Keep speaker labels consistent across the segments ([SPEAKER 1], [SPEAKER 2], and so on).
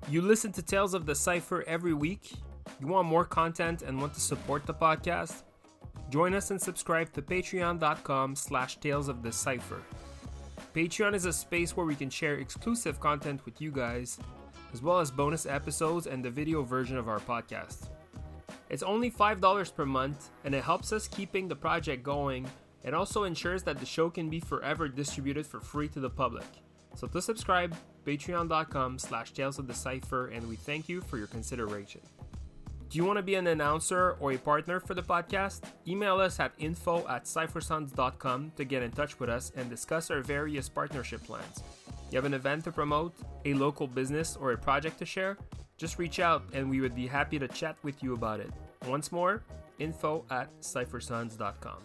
[SPEAKER 1] You listen to Tales of the Cypher every week? You want more content and want to support the podcast? Join us and subscribe to patreon.com/Tales of the Cypher. Patreon is a space where we can share exclusive content with you guys, as well as bonus episodes and the video version of our podcast. It's only $5 per month, and it helps us keeping the project going and also ensures that the show can be forever distributed for free to the public. So to subscribe, patreon.com/Tales of the Cypher, and we thank you for your consideration. Do you want to be an announcer or a partner for the podcast? Email us at info@cyphersons.com to get in touch with us and discuss our various partnership plans. You have an event to promote, a local business, or a project to share? Just reach out and we would be happy to chat with you about it. Once more, info@cyphersons.com.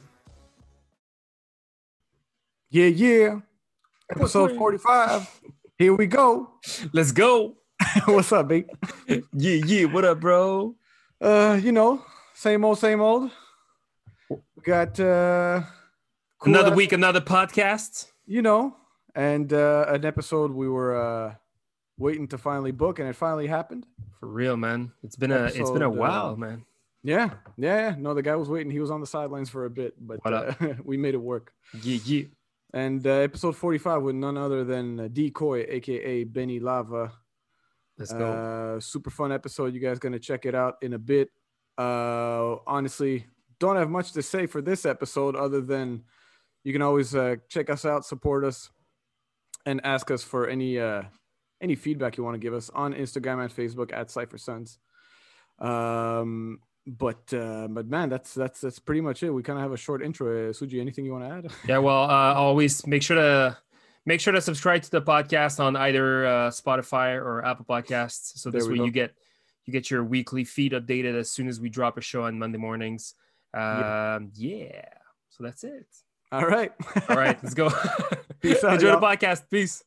[SPEAKER 2] Yeah. Episode 45. Here we go.
[SPEAKER 1] Let's go.
[SPEAKER 2] What's up, B?
[SPEAKER 1] Yeah. What up, bro?
[SPEAKER 2] Same old. We got
[SPEAKER 1] Another week, another podcast.
[SPEAKER 2] And an episode we were waiting to finally book, and it finally happened.
[SPEAKER 1] For real, man. It's been a while, man.
[SPEAKER 2] Yeah. No, the guy was waiting. He was on the sidelines for a bit, but we made it work.
[SPEAKER 1] Yeah.
[SPEAKER 2] And episode 45 with none other than Decoy, aka Benny Lava.
[SPEAKER 1] Let's go.
[SPEAKER 2] Super fun episode. You guys gonna check it out in a bit. Honestly, don't have much to say for this episode other than you can always check us out, support us, and ask us for any feedback you want to give us on Instagram and Facebook at CypherSons. But man, that's pretty much it. We kind of have a short intro. Suji, anything you want to add?
[SPEAKER 1] Yeah, well, always make sure to subscribe to the podcast on either Spotify or Apple Podcasts. So this way you get your weekly feed updated as soon as we drop a show on Monday mornings. Yeah. So that's it.
[SPEAKER 2] All right,
[SPEAKER 1] let's go.
[SPEAKER 2] Peace out.
[SPEAKER 1] Enjoy
[SPEAKER 2] y'all.
[SPEAKER 1] the podcast. Peace.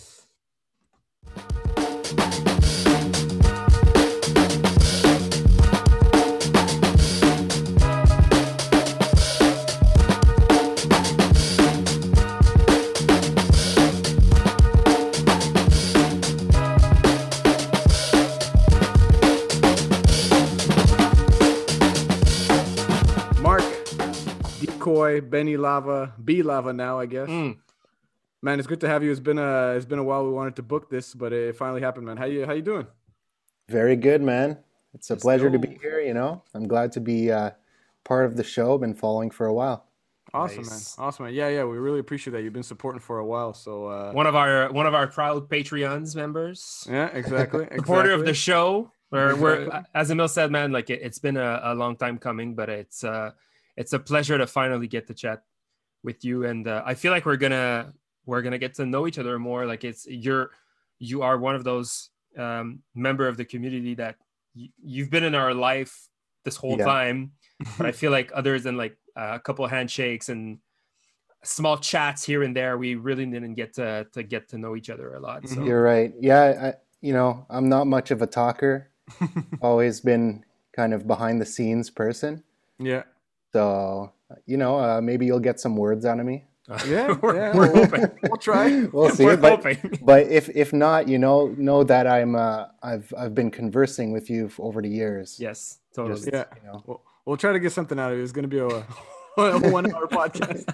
[SPEAKER 2] Decoy, Benny Lava, B Lava now, I guess. Man, it's good to have you. It's been a while. We wanted to book this, but it finally happened, man. How you doing?
[SPEAKER 3] Very good, man. It's a pleasure to be here. I'm glad to be part of the show. Been following for a while.
[SPEAKER 2] Awesome,
[SPEAKER 1] Nice.
[SPEAKER 2] man. Awesome, man. Yeah. We really appreciate that. You've been supporting for a while. So
[SPEAKER 1] One of our proud Patreons members.
[SPEAKER 2] yeah, exactly.
[SPEAKER 1] Supporter of the show. We're as Emil said, man, like it's been a long time coming, but it's a pleasure to finally get to chat with you, and I feel like we're gonna get to know each other more. Like you are one of those member of the community that you've been in our life this whole time, but I feel like other than like a couple of handshakes and small chats here and there, we really didn't get to know each other a lot. So.
[SPEAKER 3] You're right. Yeah, I'm not much of a talker. Always been kind of behind the scenes person.
[SPEAKER 2] Yeah.
[SPEAKER 3] So, maybe you'll get some words out of me.
[SPEAKER 2] Yeah,
[SPEAKER 1] we're
[SPEAKER 2] hoping. We'll try.
[SPEAKER 3] We'll see.
[SPEAKER 1] We're
[SPEAKER 3] But
[SPEAKER 1] hoping.
[SPEAKER 3] if not, know that I've been conversing with you over the years.
[SPEAKER 1] Yes, totally.
[SPEAKER 3] Just,
[SPEAKER 2] Yeah. We'll try to get something out of it. It's going to be a 1-hour podcast.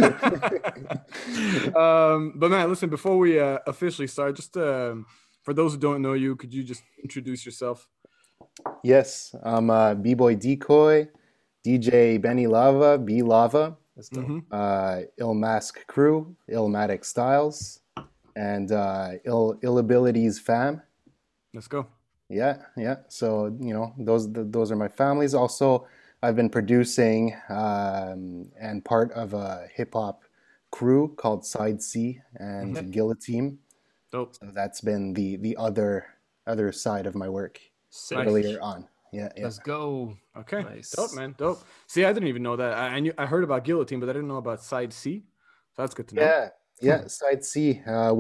[SPEAKER 2] But man, listen, before we officially start, just for those who don't know you, could you just introduce yourself?
[SPEAKER 3] Yes, I'm B-Boy Decoy, DJ Benny Lava, B Lava, Ill Mask Crew, Illmatic Styles, and Ill Abilities Fam.
[SPEAKER 2] Let's go.
[SPEAKER 3] Yeah. So those are my families. Also, I've been producing and part of a hip hop crew called Side C and Guillotine.
[SPEAKER 2] Dope.
[SPEAKER 3] So that's been the other side of my work
[SPEAKER 1] Sick.
[SPEAKER 3] earlier on. Yeah.
[SPEAKER 1] Let's go.
[SPEAKER 2] Okay.
[SPEAKER 1] Nice.
[SPEAKER 2] Dope, man. Dope. See, I didn't even know that. I heard about Guillotine, but I didn't know about Side C. So that's good to know.
[SPEAKER 3] Yeah. Side C. I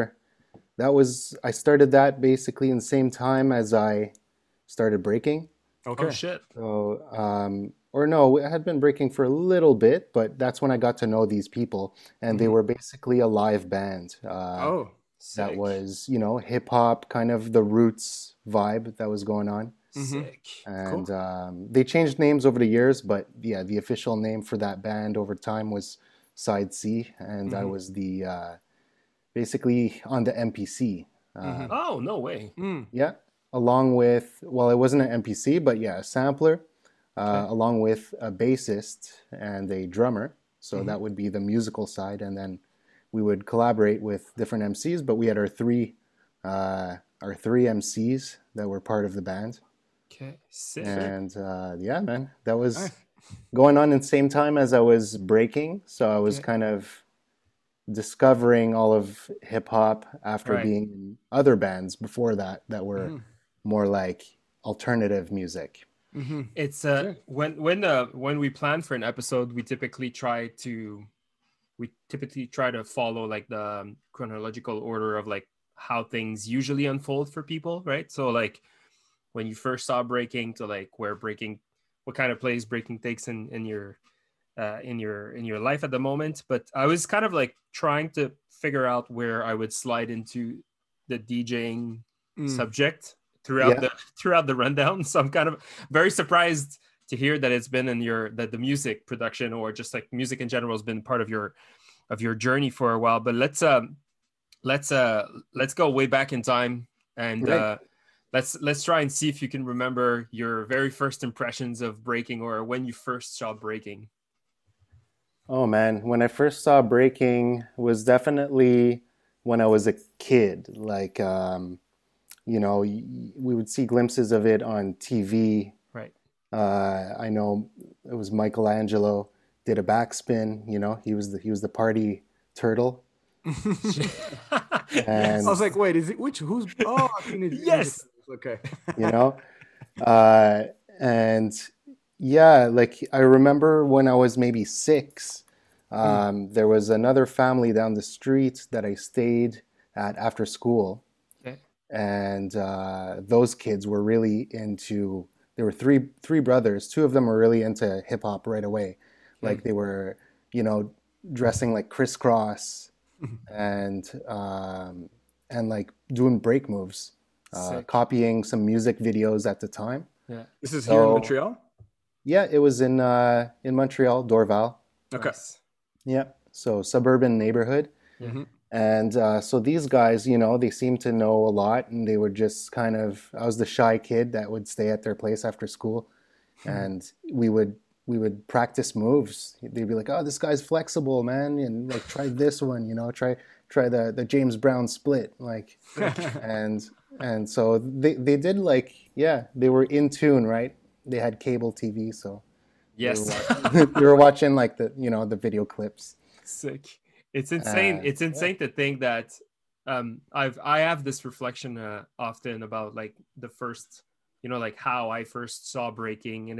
[SPEAKER 3] started that basically in the same time as I started breaking.
[SPEAKER 2] Okay.
[SPEAKER 1] Oh shit.
[SPEAKER 3] So, I had been breaking for a little bit, but that's when I got to know these people, and they were basically a live band. that
[SPEAKER 1] Sick.
[SPEAKER 3] was, hip hop, kind of the roots vibe that was going on.
[SPEAKER 1] Sick.
[SPEAKER 3] And
[SPEAKER 2] Cool.
[SPEAKER 3] they changed names over the years, but yeah, the official name for that band over time was Side C, and I was the basically on the MPC.
[SPEAKER 1] Oh, no way.
[SPEAKER 2] Mm.
[SPEAKER 3] Yeah, along with, well, it wasn't an MPC, but yeah, a sampler, along with a bassist and a drummer. So that would be the musical side, and then we would collaborate with different MCs. But we had our three MCs that were part of the band,
[SPEAKER 1] Okay. Sick.
[SPEAKER 3] and yeah, man, that was
[SPEAKER 2] Nice.
[SPEAKER 3] going on in the same time as I was breaking. So I was
[SPEAKER 1] Okay.
[SPEAKER 3] kind of discovering all of hip hop after
[SPEAKER 1] Right.
[SPEAKER 3] being in other bands before that were more like alternative music.
[SPEAKER 1] It's
[SPEAKER 2] Sick.
[SPEAKER 1] when we plan for an episode, we typically try to follow like the chronological order of like how things usually unfold for people, right? So like when you first saw breaking to like what kind of place breaking takes in your life at the moment. But I was kind of like trying to figure out where I would slide into the DJing subject throughout
[SPEAKER 3] Yeah.
[SPEAKER 1] the rundown. So I'm kind of very surprised to hear that it's been that the music production or just like music in general has been part of your journey for a while. But let's go way back in time and
[SPEAKER 3] Right.
[SPEAKER 1] let's try and see if you can remember your very first impressions of breaking or when you first saw breaking.
[SPEAKER 3] Oh man, when I first saw breaking was definitely when I was a kid. Like, we would see glimpses of it on TV.
[SPEAKER 1] Right.
[SPEAKER 3] I know it was Michelangelo did a backspin. He was the party turtle.
[SPEAKER 2] I
[SPEAKER 3] And
[SPEAKER 2] was like, wait, who's? Oh, Teenage Mutant Ninja
[SPEAKER 1] Yes.
[SPEAKER 2] Turtles. Okay.
[SPEAKER 3] you know, and yeah, like I remember when I was maybe 6, there was another family down the street that I stayed at after school,
[SPEAKER 1] Okay.
[SPEAKER 3] and those kids were really into. There were three brothers. Two of them were really into hip hop right away, like they were, dressing like crisscross and like doing break moves,
[SPEAKER 1] Sick.
[SPEAKER 3] copying some music videos at the time.
[SPEAKER 1] Yeah.
[SPEAKER 2] This is here in
[SPEAKER 3] So-
[SPEAKER 2] Montreal.
[SPEAKER 3] Yeah, it was in Montreal, Dorval.
[SPEAKER 2] Okay.
[SPEAKER 1] Nice.
[SPEAKER 3] Yeah, so suburban neighborhood.
[SPEAKER 1] Yeah.
[SPEAKER 3] And so these guys, they seemed to know a lot, and they would just kind of. I was the shy kid that would stay at their place after school, and we would practice moves. They'd be like, "Oh, this guy's flexible, man," and like try this one, try the James Brown split, like, and so they did like, yeah, they were in tune, right? They had cable TV, so
[SPEAKER 1] Yes.
[SPEAKER 3] we were watching like the video clips.
[SPEAKER 1] Sick. It's insane. It's insane to think that I have this reflection often about like the first, like how I first saw breaking, and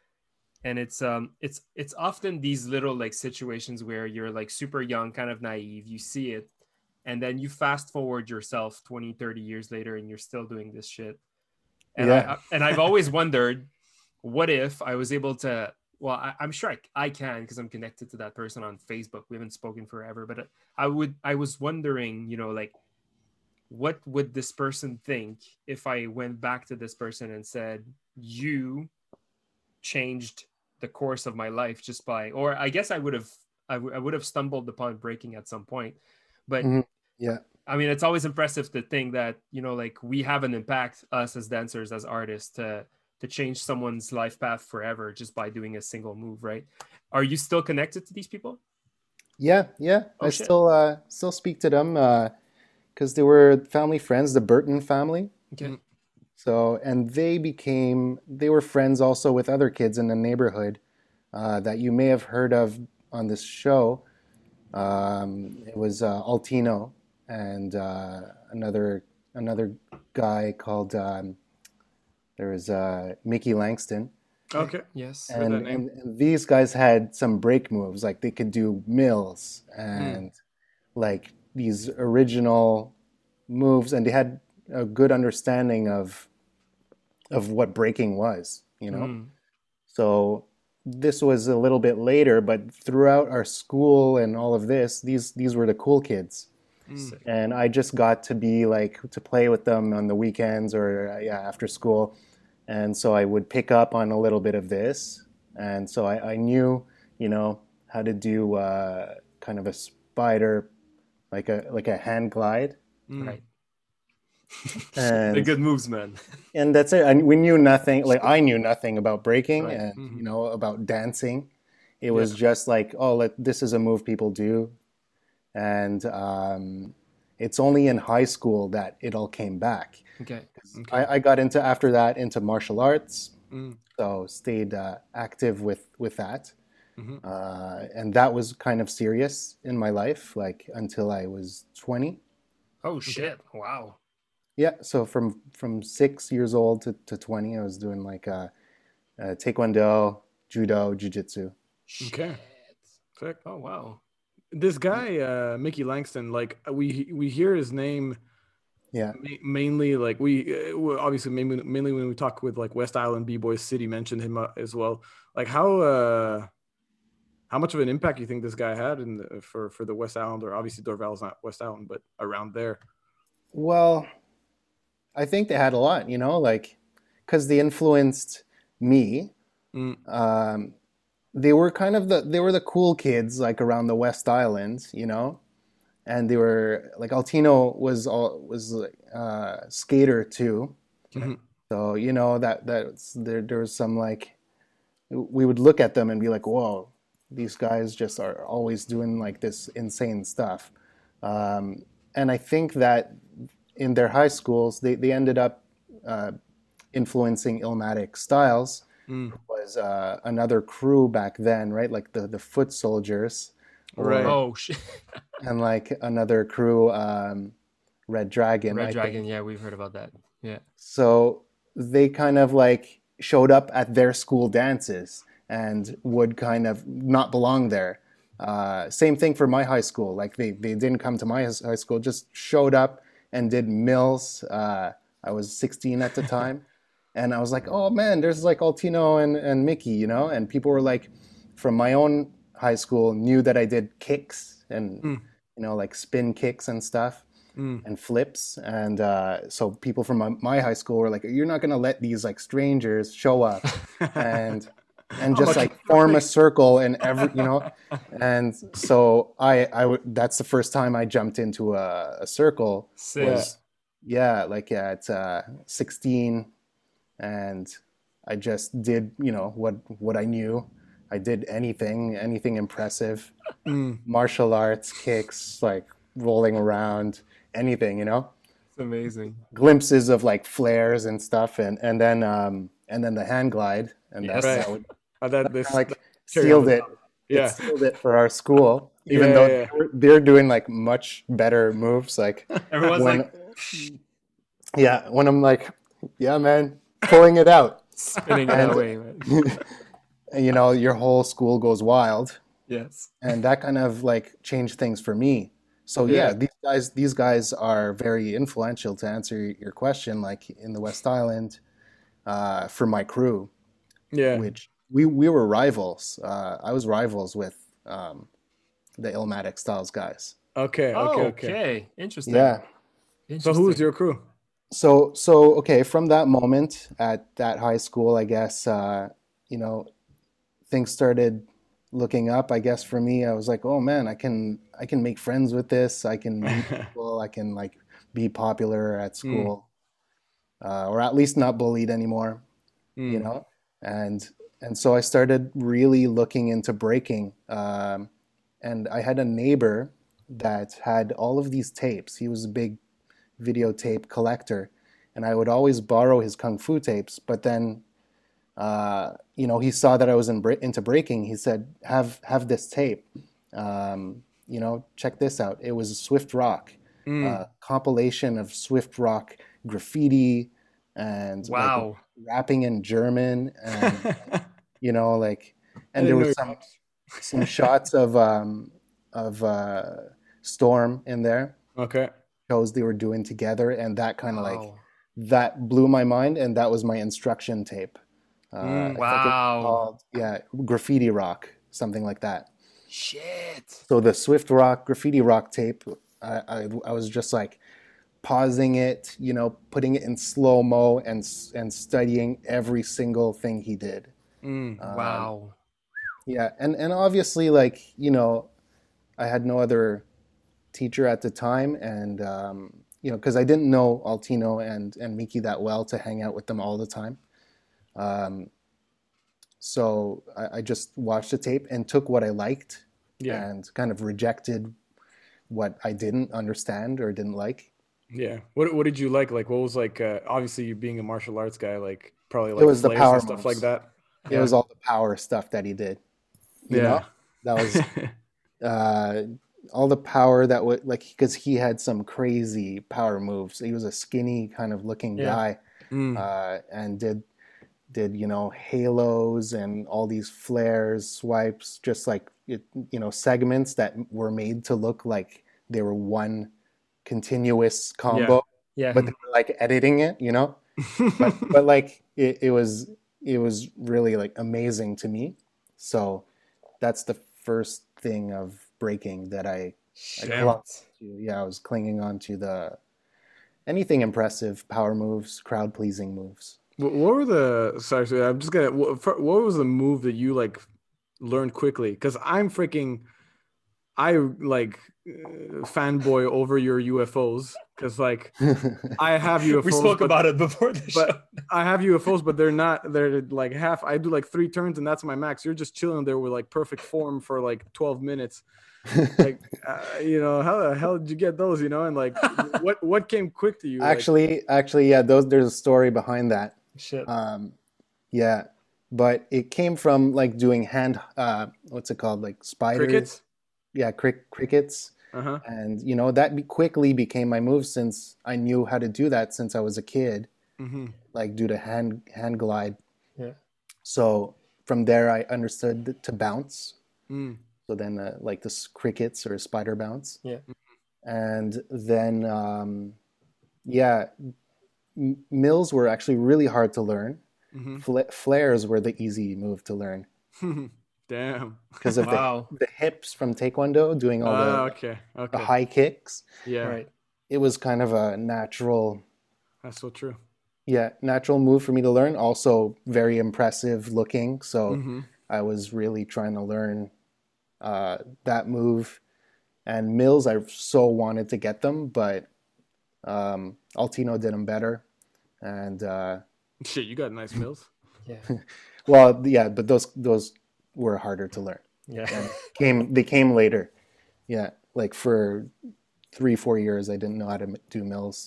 [SPEAKER 1] it's often these little like situations where you're like super young, kind of naive, you see it, and then you fast forward yourself 20, 30 years later and you're still doing this shit. And
[SPEAKER 3] Yeah.
[SPEAKER 1] I've always wondered, what if I was able to, well, I'm sure I can because I'm connected to that person on Facebook. We haven't spoken forever, but I was wondering, like, what would this person think if I went back to this person and said, you changed the course of my life just by, or I guess I would have stumbled upon breaking at some point. But
[SPEAKER 3] Yeah.
[SPEAKER 1] I mean, it's always impressive to think that, like we have an impact, us as dancers, as artists, to change someone's life path forever just by doing a single move, right? Are you still connected to these people?
[SPEAKER 3] Yeah.
[SPEAKER 1] Oh,
[SPEAKER 3] I
[SPEAKER 1] shit.
[SPEAKER 3] still speak to them because they were family friends, the Burton family.
[SPEAKER 1] Okay.
[SPEAKER 3] So, and they were friends also with other kids in the neighborhood that you may have heard of on this show. It was Altino and another guy called there was Mickey Langston.
[SPEAKER 2] Okay.
[SPEAKER 1] Yes.
[SPEAKER 2] Heard that name.
[SPEAKER 3] And these guys had some break moves, like they could do mills and like these original moves, and they had a good understanding of what breaking was, So this was a little bit later, but throughout our school and all of this, these were the cool kids.
[SPEAKER 1] Sick.
[SPEAKER 3] and I just got to be like to play with them on the weekends or after school, and so I would pick up on a little bit of this, and so I knew how to do kind of a spider, like a hand glide,
[SPEAKER 1] Right.
[SPEAKER 3] and
[SPEAKER 1] They're good moves, man.
[SPEAKER 3] and that's it. And we knew nothing. Like I knew nothing about breaking
[SPEAKER 1] Right.
[SPEAKER 3] and about dancing. It was just like, oh, this is a move people do, and it's only in high school that it all came back.
[SPEAKER 1] Okay.
[SPEAKER 3] I got after that into martial arts,
[SPEAKER 2] Mm.
[SPEAKER 3] so stayed active with that,
[SPEAKER 2] Mhm.
[SPEAKER 3] and that was kind of serious in my life, like until I was 20.
[SPEAKER 1] Oh shit! Wow.
[SPEAKER 3] Yeah, so from 6 years old to 20, I was doing like taekwondo, judo, jiu-jitsu.
[SPEAKER 2] Okay. Sick.
[SPEAKER 1] Oh wow.
[SPEAKER 2] This guy, Mickey Langston, like we hear his name
[SPEAKER 3] Yeah.
[SPEAKER 2] mainly, like obviously mainly when we talk with like West Island B-Boys City, mentioned him as well. Like how much of an impact you think this guy had for the West Island, or obviously Dorval's not West Island, but around there?
[SPEAKER 3] Well, I think they had a lot, like because they influenced me.
[SPEAKER 2] Mm.
[SPEAKER 3] They were kind of they were the cool kids like around the West Island, and they were like Altino was skater too.
[SPEAKER 2] Mhm.
[SPEAKER 3] So that's there was some like we would look at them and be like, whoa, these guys just are always doing like this insane stuff. And I think that in their high schools, they ended up influencing Illmatic Styles,
[SPEAKER 2] Mm.
[SPEAKER 3] was another crew back then, right? Like the Foot Soldiers,
[SPEAKER 2] Right.
[SPEAKER 1] Oh shit.
[SPEAKER 3] and like another crew, Red Dragon.
[SPEAKER 1] Red
[SPEAKER 3] I
[SPEAKER 1] Dragon.
[SPEAKER 3] think.
[SPEAKER 1] Yeah, we've heard about that. Yeah.
[SPEAKER 3] So they kind of like showed up at their school dances and would kind of not belong there. Same thing for my high school. Like they didn't come to my high school, just showed up and did mills. I was 16 at the time. And I was like, oh man, there's like Altino and Mickey, and people were like, from my own high school, knew that I did kicks and, like spin kicks and stuff and flips. And so people from my high school were like, you're not going to let these like strangers show up and just like form a circle and and so that's the first time I jumped into a circle.
[SPEAKER 1] Sick.
[SPEAKER 3] Was, like at 16. And I just did, what I knew. I did anything impressive, martial arts, kicks, like rolling around, anything,
[SPEAKER 1] It's amazing.
[SPEAKER 3] glimpses of like flares and stuff, and then the hand glide, and
[SPEAKER 1] Yes.
[SPEAKER 3] that would
[SPEAKER 2] This
[SPEAKER 3] like
[SPEAKER 2] cherry
[SPEAKER 3] sealed
[SPEAKER 2] on the
[SPEAKER 3] it.
[SPEAKER 2] top. Yeah.
[SPEAKER 3] It sealed it for our school, even
[SPEAKER 2] Yeah,
[SPEAKER 3] though
[SPEAKER 2] yeah.
[SPEAKER 3] they're doing like much better moves. Like
[SPEAKER 1] Everyone's
[SPEAKER 3] when,
[SPEAKER 1] like
[SPEAKER 3] when I'm like, yeah, man, pulling it out.
[SPEAKER 1] spinning it away, man.
[SPEAKER 3] Your whole school goes wild,
[SPEAKER 1] Yes.
[SPEAKER 3] and that kind of like changed things for me. So
[SPEAKER 2] Yeah.
[SPEAKER 3] these guys are very influential, to answer your question, like in the West Island, for my crew,
[SPEAKER 2] Yeah.
[SPEAKER 3] which we were rivals. I was rivals with the Illmatic Styles guys.
[SPEAKER 2] Okay.
[SPEAKER 1] Oh,
[SPEAKER 2] Okay.
[SPEAKER 1] okay. Interesting.
[SPEAKER 3] Yeah.
[SPEAKER 2] So who was your crew?
[SPEAKER 3] So okay, from that moment at that high school, I guess things started looking up. I guess for me, I was like, oh man, I can make friends with this. I can meet people. I can like be popular at school, or at least not bullied anymore. And so I started really looking into breaking. And I had a neighbor that had all of these tapes. He was a big videotape collector, and I would always borrow his kung fu tapes. But then, he saw that I was into breaking. He said, "Have this tape. Check this out." It was a Swift Rock compilation of Swift Rock graffiti and
[SPEAKER 1] Wow.
[SPEAKER 3] like rapping in German, and and there was some shots of Storm in there.
[SPEAKER 2] Okay.
[SPEAKER 3] Shows they were doing together, and that kind of like
[SPEAKER 1] Wow.
[SPEAKER 3] that blew my mind, and that was my instruction tape. I think it was
[SPEAKER 1] Wow.
[SPEAKER 3] called, Graffiti Rock, something like that.
[SPEAKER 1] Shit.
[SPEAKER 3] So the Swift Rock, Graffiti Rock tape, I was just like pausing it, you know, putting it in slow-mo and studying every single thing he did.
[SPEAKER 1] Wow.
[SPEAKER 3] Yeah, and obviously, like, you know, I had no other teacher at the time, and you know, because I didn't know Altino and Miki that well to hang out with them all the time. Um, so I just watched the tape and took what I liked
[SPEAKER 2] Yeah.
[SPEAKER 3] and kind of rejected what I didn't understand or didn't like.
[SPEAKER 2] Yeah. What did you like? Like what was like obviously you being a martial arts guy, like probably
[SPEAKER 3] It
[SPEAKER 2] like
[SPEAKER 3] was the
[SPEAKER 2] flares
[SPEAKER 3] power
[SPEAKER 2] and stuff like
[SPEAKER 3] moves.
[SPEAKER 2] that.
[SPEAKER 3] It
[SPEAKER 2] Yeah.
[SPEAKER 3] was all the power stuff that he did. You know,
[SPEAKER 2] Yeah.
[SPEAKER 3] that was uh, all the power that would like because he had some crazy power moves. He was a skinny kind of looking
[SPEAKER 1] Yeah.
[SPEAKER 3] guy,
[SPEAKER 2] Mm.
[SPEAKER 3] and did you know halos and all these flares, swipes, just like you know segments that were made to look like they were one continuous
[SPEAKER 2] Yeah.
[SPEAKER 3] combo,
[SPEAKER 1] Yeah.
[SPEAKER 3] but they were like editing it, you know. But like it was really like amazing to me. So that's the first thing of breaking that I
[SPEAKER 2] Damn.
[SPEAKER 3] clung to. Yeah, I was clinging on to the anything impressive, power moves, crowd pleasing moves.
[SPEAKER 2] What were the sorry, I'm just gonna what was the move that you like learned quickly? Because I like fanboy over your UFOs because like I have
[SPEAKER 1] We
[SPEAKER 2] UFOs,
[SPEAKER 1] spoke about it before the show.
[SPEAKER 2] but I have UFOs, but they're like half. I do like 3 turns and that's my max. You're just chilling there with like perfect form for like 12 minutes. Like, you know, how the hell did you get those? You know, and like, what came quick to you? Like,
[SPEAKER 3] Actually, yeah, there's a story behind that.
[SPEAKER 1] Shit.
[SPEAKER 3] Yeah, but it came from like doing what's it called, like spiders?
[SPEAKER 2] crickets.
[SPEAKER 3] Yeah, crickets.
[SPEAKER 2] Uh-huh.
[SPEAKER 3] And you know that quickly became my move since I knew how to do that since I was a kid,
[SPEAKER 2] Mm-hmm.
[SPEAKER 3] like do the hand glide.
[SPEAKER 1] Yeah.
[SPEAKER 3] So from there I understood to bounce.
[SPEAKER 2] Mm.
[SPEAKER 3] So then like this crickets or spider bounce.
[SPEAKER 1] Yeah.
[SPEAKER 3] And then yeah, mills were actually really hard to learn.
[SPEAKER 2] Mm-hmm.
[SPEAKER 3] Flares were the easy move to learn
[SPEAKER 2] Damn.
[SPEAKER 3] because of
[SPEAKER 1] Wow.
[SPEAKER 3] the hips from Taekwondo doing all
[SPEAKER 2] Okay.
[SPEAKER 3] the
[SPEAKER 2] Okay.
[SPEAKER 3] high kicks.
[SPEAKER 2] Yeah.
[SPEAKER 1] Right.
[SPEAKER 3] It was kind of a natural,
[SPEAKER 2] That's so true.
[SPEAKER 3] yeah, natural move for me to learn. Also very impressive looking. So
[SPEAKER 2] Mm-hmm.
[SPEAKER 3] I was really trying to learn that move. And mills, I so wanted to get them, but Altino did them better. And
[SPEAKER 2] Shit, you got nice mills.
[SPEAKER 1] Yeah.
[SPEAKER 3] well, yeah, but those were harder to learn.
[SPEAKER 1] Yeah.
[SPEAKER 3] They came later. Yeah, like for 3-4 years, I didn't know how to do mills.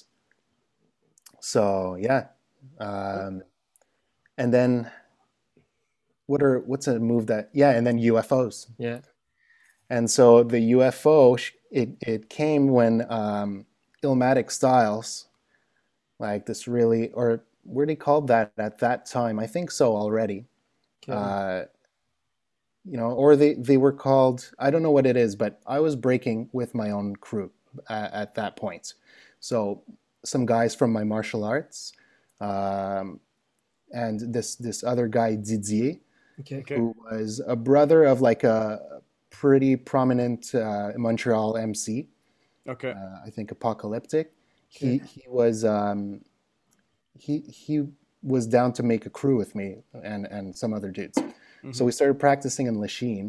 [SPEAKER 3] So yeah, and then what's a move that and then UFOs.
[SPEAKER 1] Yeah.
[SPEAKER 3] And so the UFO it came when Illmatic Styles, like this really, or were they called that at that time? I think so already.
[SPEAKER 1] Okay.
[SPEAKER 3] You know, or they were called, I don't know what it is, but I was breaking with my own crew at that point. So some guys from my martial arts, and this other guy Didier,
[SPEAKER 1] Okay.
[SPEAKER 3] who was a brother of like a pretty prominent Montreal MC.
[SPEAKER 2] Okay.
[SPEAKER 3] I think Apocalyptic. He was he was down to make a crew with me and some other dudes. So we started practicing in Lachine,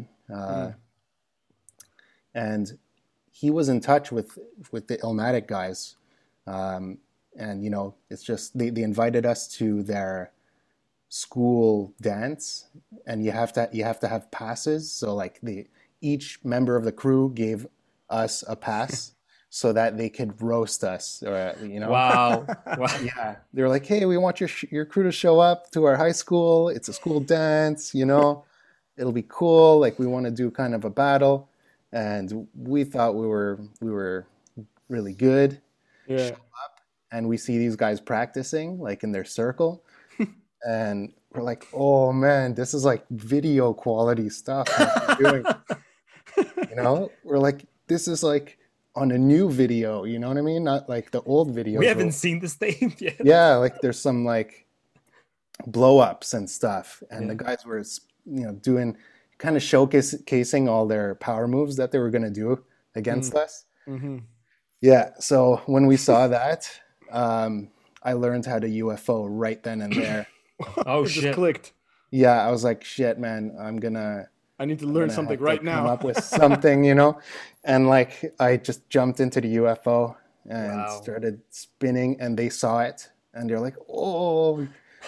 [SPEAKER 3] and he was in touch with the Illmatic guys, and you know it's just they invited us to their school dance, and you have to have passes. So like each member of the crew gave us a pass so that they could roast us, or you know.
[SPEAKER 1] Wow. Wow.
[SPEAKER 3] Yeah, they were like, "Hey, we want your crew to show up to our high school. It's a school dance, you know. It'll be cool. Like we want to do kind of a battle." And we thought we were really good.
[SPEAKER 2] Yeah.
[SPEAKER 3] And we see these guys practicing like in their circle, and we're like, "Oh man, this is like video quality stuff that we're doing." You know, we're like, "This is like on a new video." You know what I mean? Not like the old videos.
[SPEAKER 1] We haven't seen this thing yet.
[SPEAKER 3] Yeah, like there's some like blow ups and stuff, and the guys were doing kind of showcasing all their power moves that they were going to do against us.
[SPEAKER 2] Mm-hmm.
[SPEAKER 3] Yeah. So when we saw that, I learned how to UFO right then and there.
[SPEAKER 1] Oh
[SPEAKER 2] It just
[SPEAKER 1] shit.
[SPEAKER 2] clicked.
[SPEAKER 3] Yeah, I was like, shit, man,
[SPEAKER 2] I need to
[SPEAKER 3] I'm
[SPEAKER 2] learn
[SPEAKER 3] gonna
[SPEAKER 2] something
[SPEAKER 3] have to
[SPEAKER 2] right
[SPEAKER 3] come
[SPEAKER 2] now.
[SPEAKER 3] up with something, you know? And like I just jumped into the UFO and
[SPEAKER 1] Wow.
[SPEAKER 3] started spinning and they saw it and they're like, "Oh,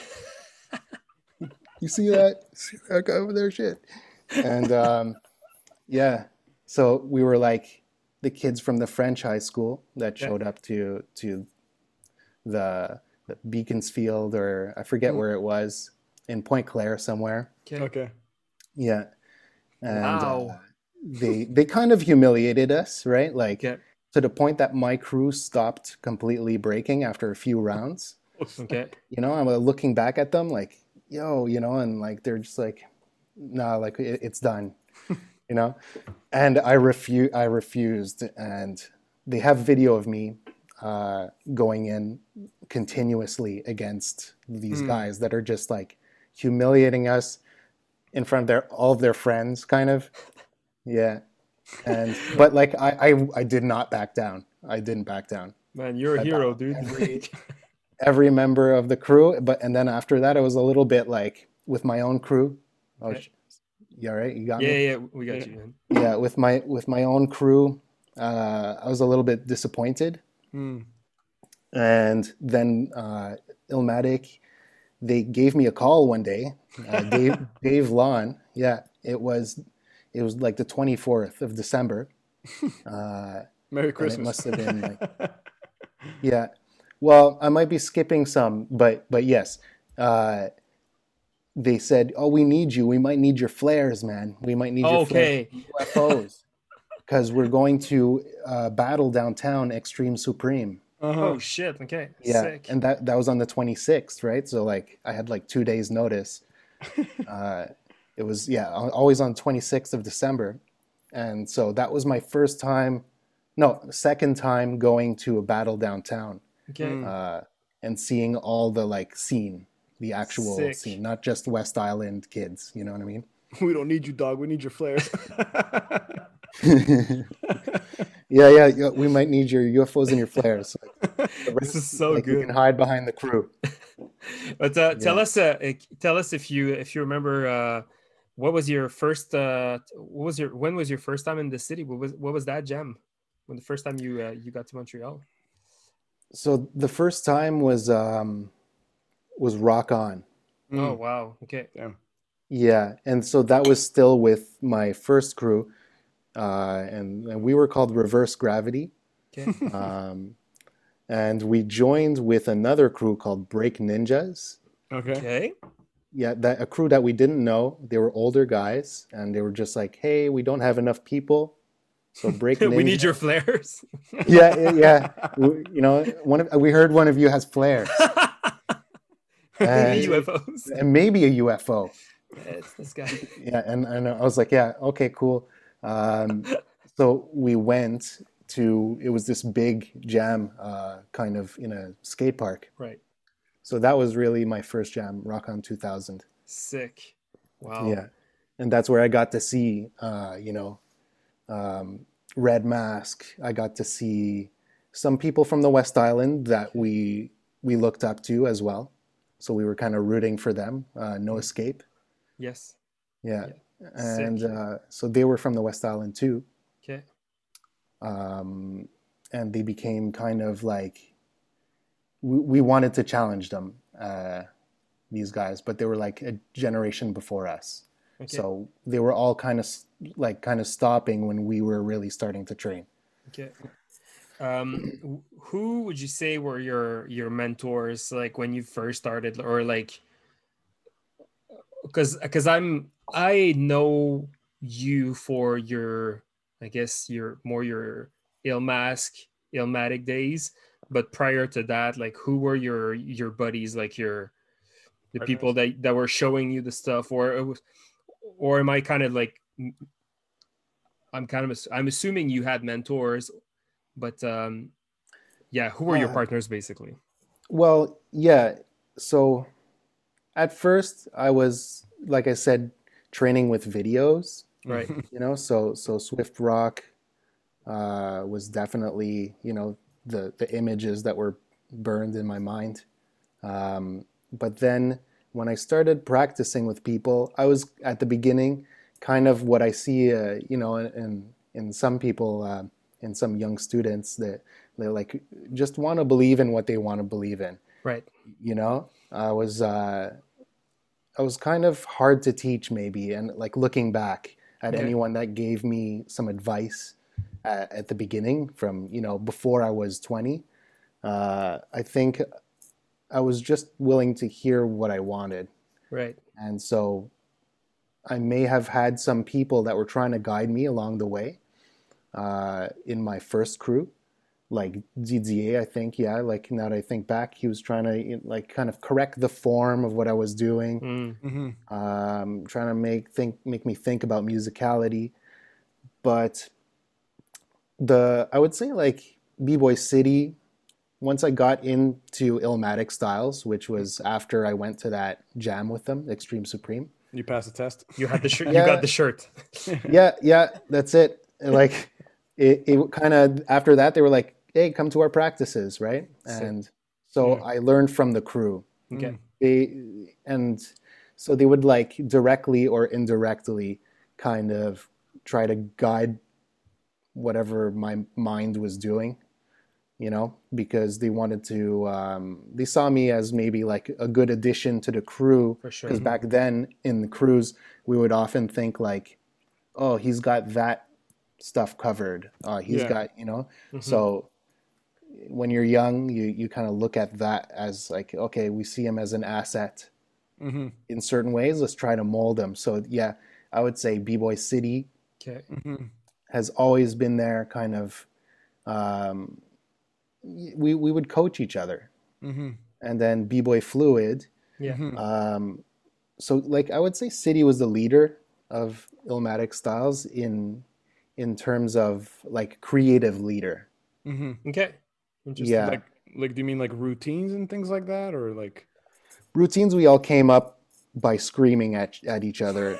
[SPEAKER 3] you see that? See that guy over there? Shit." And yeah, so we were like the kids from the French high school that
[SPEAKER 1] Yeah.
[SPEAKER 3] showed up to the Beaconsfield, or I forget where it was, in Point Claire somewhere.
[SPEAKER 1] Okay.
[SPEAKER 2] Okay.
[SPEAKER 3] Yeah, and
[SPEAKER 1] Wow.
[SPEAKER 3] they kind of humiliated us, right? Like
[SPEAKER 1] Okay.
[SPEAKER 3] to the point that my crew stopped completely braking after a few rounds.
[SPEAKER 1] Okay.
[SPEAKER 3] You know, I'm looking back at them like, yo, you know, and like they're just like, no, like it's done, you know. And I refused, and they have video of me going in continuously against these guys that are just like humiliating us in front of all of their friends, kind of. Yeah. And but like I did not back down. I didn't back down.
[SPEAKER 1] Man, you're a
[SPEAKER 3] I
[SPEAKER 1] hero,
[SPEAKER 3] battled
[SPEAKER 1] dude.
[SPEAKER 3] every member of the crew, but and then after that, it was a little bit like with my own crew. Oh,
[SPEAKER 1] Okay.
[SPEAKER 3] you all right? You got
[SPEAKER 1] Yeah,
[SPEAKER 3] me?
[SPEAKER 1] yeah, we got
[SPEAKER 2] Yeah.
[SPEAKER 1] you, man.
[SPEAKER 3] Yeah, with my own crew, I was a little bit disappointed.
[SPEAKER 2] Hmm.
[SPEAKER 3] And then Illmatic, they gave me a call one day. Dave Lawn, yeah, it was like the 24th of December,
[SPEAKER 2] Merry
[SPEAKER 3] and it
[SPEAKER 2] Christmas.
[SPEAKER 3] must have been like, yeah. Well, I might be skipping some, but yes, they said, "Oh, we need you. We might need your flares, man. We might need your flares,
[SPEAKER 1] Okay.
[SPEAKER 3] UFOs, because we're going to battle downtown Extreme Supreme."
[SPEAKER 2] Uh-huh.
[SPEAKER 1] Oh shit. Okay.
[SPEAKER 3] Yeah,
[SPEAKER 1] Sick.
[SPEAKER 3] and that was on the 26th, right? So like I had like 2 days notice. It was always on 26th of December, and so that was my first time, no, second time going to a battle downtown,
[SPEAKER 1] Okay.
[SPEAKER 3] and seeing all the like scene, the actual
[SPEAKER 1] Sick.
[SPEAKER 3] scene, not just West Island kids. You know what I mean?
[SPEAKER 2] We don't need you, dog. We need your flares.
[SPEAKER 3] Yeah. We might need your UFOs and your flares.
[SPEAKER 1] This is so
[SPEAKER 3] Like you
[SPEAKER 1] good.
[SPEAKER 3] can hide behind the crew.
[SPEAKER 1] But
[SPEAKER 3] Yeah.
[SPEAKER 1] tell us if you remember what was your first when was your first time in the city? What was that jam? When the first time you got to Montreal?
[SPEAKER 3] So the first time was Rock On.
[SPEAKER 1] Oh wow. Okay.
[SPEAKER 2] Damn.
[SPEAKER 3] Yeah, and so that was still with my first crew, and we were called Reverse Gravity,
[SPEAKER 1] Okay.
[SPEAKER 3] and we joined with another crew called Break Ninjas.
[SPEAKER 2] Okay.
[SPEAKER 1] Okay.
[SPEAKER 3] Yeah, a crew that we didn't know. They were older guys, and they were just like, "Hey, we don't have enough people, so Break Ninjas."
[SPEAKER 1] We need your flares.
[SPEAKER 3] Yeah. You know, we heard one of you has flares,
[SPEAKER 1] Maybe
[SPEAKER 3] and,
[SPEAKER 1] UFOs.
[SPEAKER 3] and maybe a UFO.
[SPEAKER 1] Yeah, it's this guy.
[SPEAKER 3] Yeah, and I was like, yeah, okay, cool. So we went to, it was this big jam, kind of in a skate park.
[SPEAKER 1] Right.
[SPEAKER 3] So that was really my first jam, Rock On 2000.
[SPEAKER 1] Sick. Wow.
[SPEAKER 3] Yeah, and that's where I got to see, Red Mask. I got to see some people from the West Island that we looked up to as well. So we were kind of rooting for them. No Escape.
[SPEAKER 1] Yes.
[SPEAKER 3] Yeah.
[SPEAKER 1] Yeah.
[SPEAKER 3] And
[SPEAKER 1] Sick.
[SPEAKER 3] so they were from the West Island too.
[SPEAKER 1] Okay.
[SPEAKER 3] And they became kind of like, we wanted to challenge them, these guys, but they were like a generation before us.
[SPEAKER 1] Okay.
[SPEAKER 3] So they were all kind of stopping when we were really starting to train.
[SPEAKER 1] Okay. Who would you say were your mentors, like when you first started, or like, because I know you for your, I guess your Illmatic days, but prior to that, like who were your buddies, like the people that were showing you the stuff, or am I kind of like, I'm assuming you had mentors, but yeah, who were your partners basically?
[SPEAKER 3] Well, yeah. So at first I was, like I said, training with videos,
[SPEAKER 1] Right.
[SPEAKER 3] so Swift Rock, was definitely, the images that were burned in my mind. But then when I started practicing with people, I was at the beginning kind of what I see, in some people, in some young students, that they like just want to believe in what they want to believe in.
[SPEAKER 1] Right.
[SPEAKER 3] I was kind of hard to teach maybe, and like looking back at
[SPEAKER 1] Okay.
[SPEAKER 3] anyone that gave me some advice at the beginning from, before I was 20, I think I was just willing to hear what I wanted.
[SPEAKER 1] Right.
[SPEAKER 3] And so I may have had some people that were trying to guide me along the way in my first crew, like Didier, I think, yeah, like now that I think back, he was trying to like kind of correct the form of what I was doing, trying to make me think about musicality. But I would say like B-Boy City, once I got into Illmatic Styles, which was after I went to that jam with them, Extreme Supreme.
[SPEAKER 2] You passed the test.
[SPEAKER 1] You had the shirt.
[SPEAKER 3] Yeah.
[SPEAKER 1] You got the shirt.
[SPEAKER 3] Yeah, that's it. Like it kind of, after that, they were like, hey, come to our practices, right? And so I learned from the crew.
[SPEAKER 1] Okay.
[SPEAKER 3] And so they would like directly or indirectly kind of try to guide whatever my mind was doing, because they wanted to, they saw me as maybe like a good addition to the crew.
[SPEAKER 1] For sure.
[SPEAKER 3] Because back then in the crews, we would often think like, oh, he's got that stuff covered. He's got, so when you're young, you kind of look at that as like, okay, we see him as an asset in certain ways. Let's try to mold him. So yeah, I would say B-Boy City
[SPEAKER 1] Okay.
[SPEAKER 3] has always been there, kind of. We would coach each other, and then B-Boy Fluid.
[SPEAKER 1] Yeah.
[SPEAKER 3] So like I would say City was the leader of Illmatic Styles in terms of like creative leader.
[SPEAKER 1] Okay. Interesting.
[SPEAKER 3] Yeah.
[SPEAKER 2] Like, do you mean like routines and things like that, or like
[SPEAKER 3] Routines, we all came up by screaming at each other.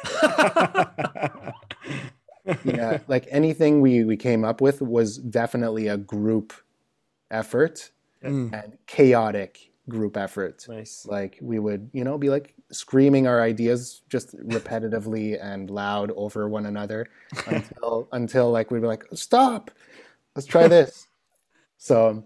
[SPEAKER 3] Yeah, like anything we came up with was definitely a group effort and chaotic group effort.
[SPEAKER 1] Nice.
[SPEAKER 3] Like we would, be like screaming our ideas just repetitively and loud over one another until like we'd be like, stop, let's try this. So,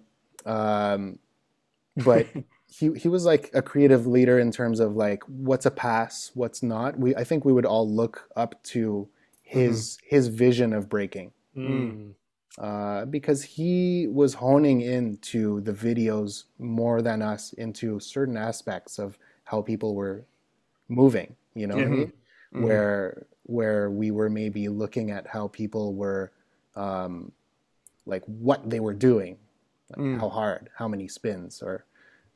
[SPEAKER 3] but he was like a creative leader in terms of like what's a pass, what's not. I think we would all look up to his vision of breaking. Because he was honing into the videos more than us into certain aspects of how people were moving, what I mean? Where we were maybe looking at how people were, like what they were doing, like how hard, how many spins, or,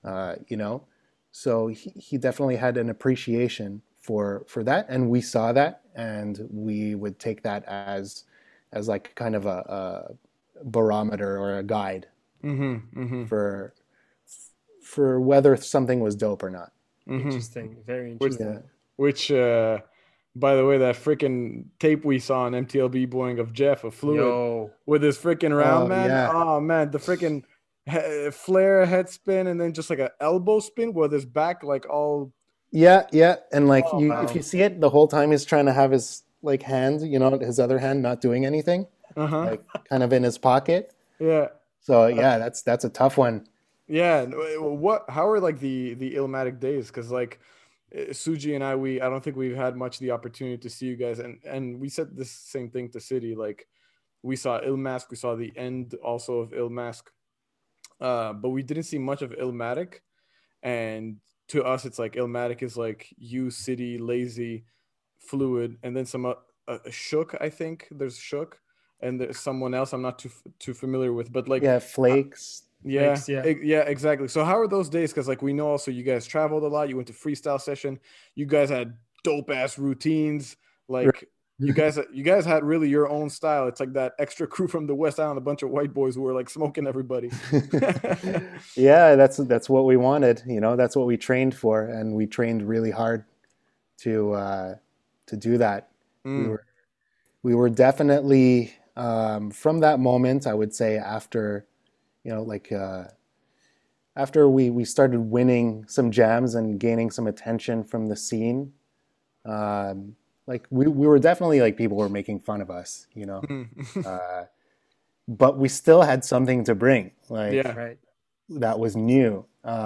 [SPEAKER 3] So he definitely had an appreciation for that, and we saw that, and we would take that as like kind of a barometer or a guide for whether something was dope or not.
[SPEAKER 1] Interesting. Very interesting.
[SPEAKER 3] Yeah.
[SPEAKER 2] which by the way, that freaking tape we saw on MTLB Boeing of Jeff of Fluid
[SPEAKER 1] Yo.
[SPEAKER 2] with his freaking round man.
[SPEAKER 3] yeah.
[SPEAKER 2] Oh man, the freaking flare head spin and then just like an elbow spin with his back like all.
[SPEAKER 3] Yeah, and like
[SPEAKER 1] wow.
[SPEAKER 3] if you see it, the whole time he's trying to have his like hand, his other hand not doing anything, like kind of in his pocket.
[SPEAKER 2] Yeah.
[SPEAKER 3] So yeah, that's a tough one.
[SPEAKER 2] Yeah. How are like the Illmatic days? Because like Suji and I don't think we've had much the opportunity to see you guys, and we said this same thing to City. Like we saw Illmask, we saw the end also of Illmask, but we didn't see much of Illmatic. And to us, it's like Illmatic is like you, City, Lazy, Fluid, and then some Shook. I think there's Shook, and there's someone else I'm not too familiar with, but like
[SPEAKER 3] Flakes.
[SPEAKER 2] Yeah,
[SPEAKER 1] Flakes, yeah.
[SPEAKER 2] yeah, exactly. So how are those days? Because like we know also you guys traveled a lot. You went to freestyle session. You guys had dope ass routines. Like you guys had really your own style. It's like that extra crew from the West Island, a bunch of white boys who were like smoking everybody.
[SPEAKER 3] Yeah, that's what we wanted. That's what we trained for, and we trained really hard to do that. We were definitely from that moment, I would say after, like after we started winning some jams and gaining some attention from the scene, like we were definitely like people were making fun of us, uh, but we still had something to bring, like
[SPEAKER 2] Yeah.
[SPEAKER 1] Right.
[SPEAKER 3] that was new.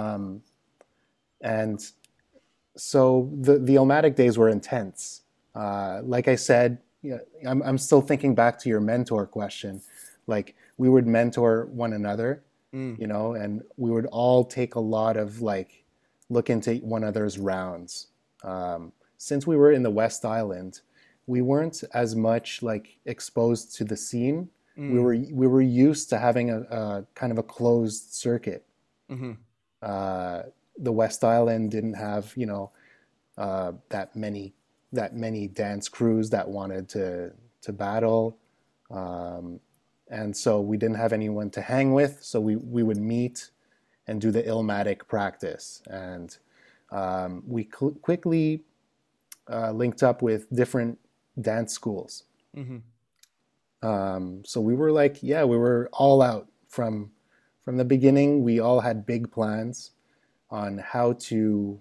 [SPEAKER 3] And so the Illmatic days were intense. Like I said, I'm still thinking back to your mentor question. Like we would mentor one another, and we would all take a lot of like look into one another's rounds. Since we were in the West Island, we weren't as much like exposed to the scene. We were used to having a kind of a closed circuit. The West Island didn't have, that many dance crews that wanted to battle, and so we didn't have anyone to hang with. So we would meet and do the Illmatic practice, and we quickly linked up with different dance schools. So we were like, yeah, we were all out from the beginning. We all had big plans on how to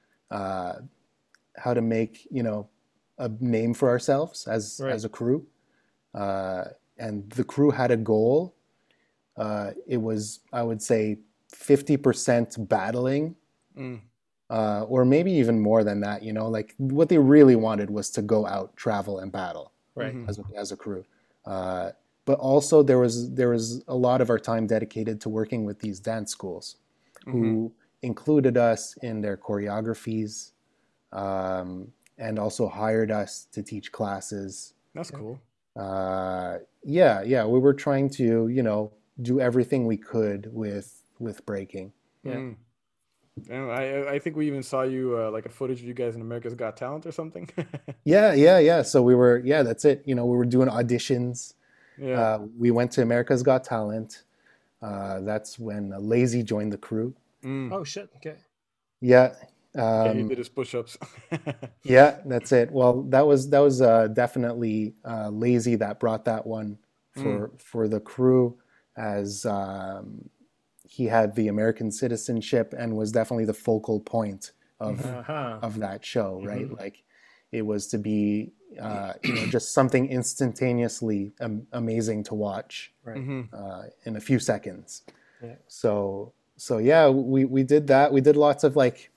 [SPEAKER 3] make a name for ourselves as a crew, and the crew had a goal. It was, I would say, 50% battling, or maybe even more than that. Like what they really wanted was to go out, travel, and battle,
[SPEAKER 1] Right.
[SPEAKER 3] as a crew. But also there was a lot of our time dedicated to working with these dance schools, who included us in their choreographies, and also hired us to teach classes.
[SPEAKER 2] That's cool.
[SPEAKER 3] Yeah, we were trying to do everything we could with breaking.
[SPEAKER 1] Yeah.
[SPEAKER 2] And I think we even saw you like a footage of you guys in America's Got Talent or something.
[SPEAKER 3] Yeah. So that's it. We were doing auditions.
[SPEAKER 2] Yeah.
[SPEAKER 3] We went to America's Got Talent. That's when Lazy joined the crew.
[SPEAKER 1] Oh shit. Okay.
[SPEAKER 3] Yeah.
[SPEAKER 2] Yeah, he did his push-ups.
[SPEAKER 3] Yeah, that's it. Well, that was definitely Lazy that brought that one for the crew, as he had the American citizenship and was definitely the focal point of that show, right? Like it was to be just something instantaneously amazing to watch,
[SPEAKER 1] Right.
[SPEAKER 3] in a few seconds.
[SPEAKER 1] Yeah.
[SPEAKER 3] So yeah, we did that. We did lots of like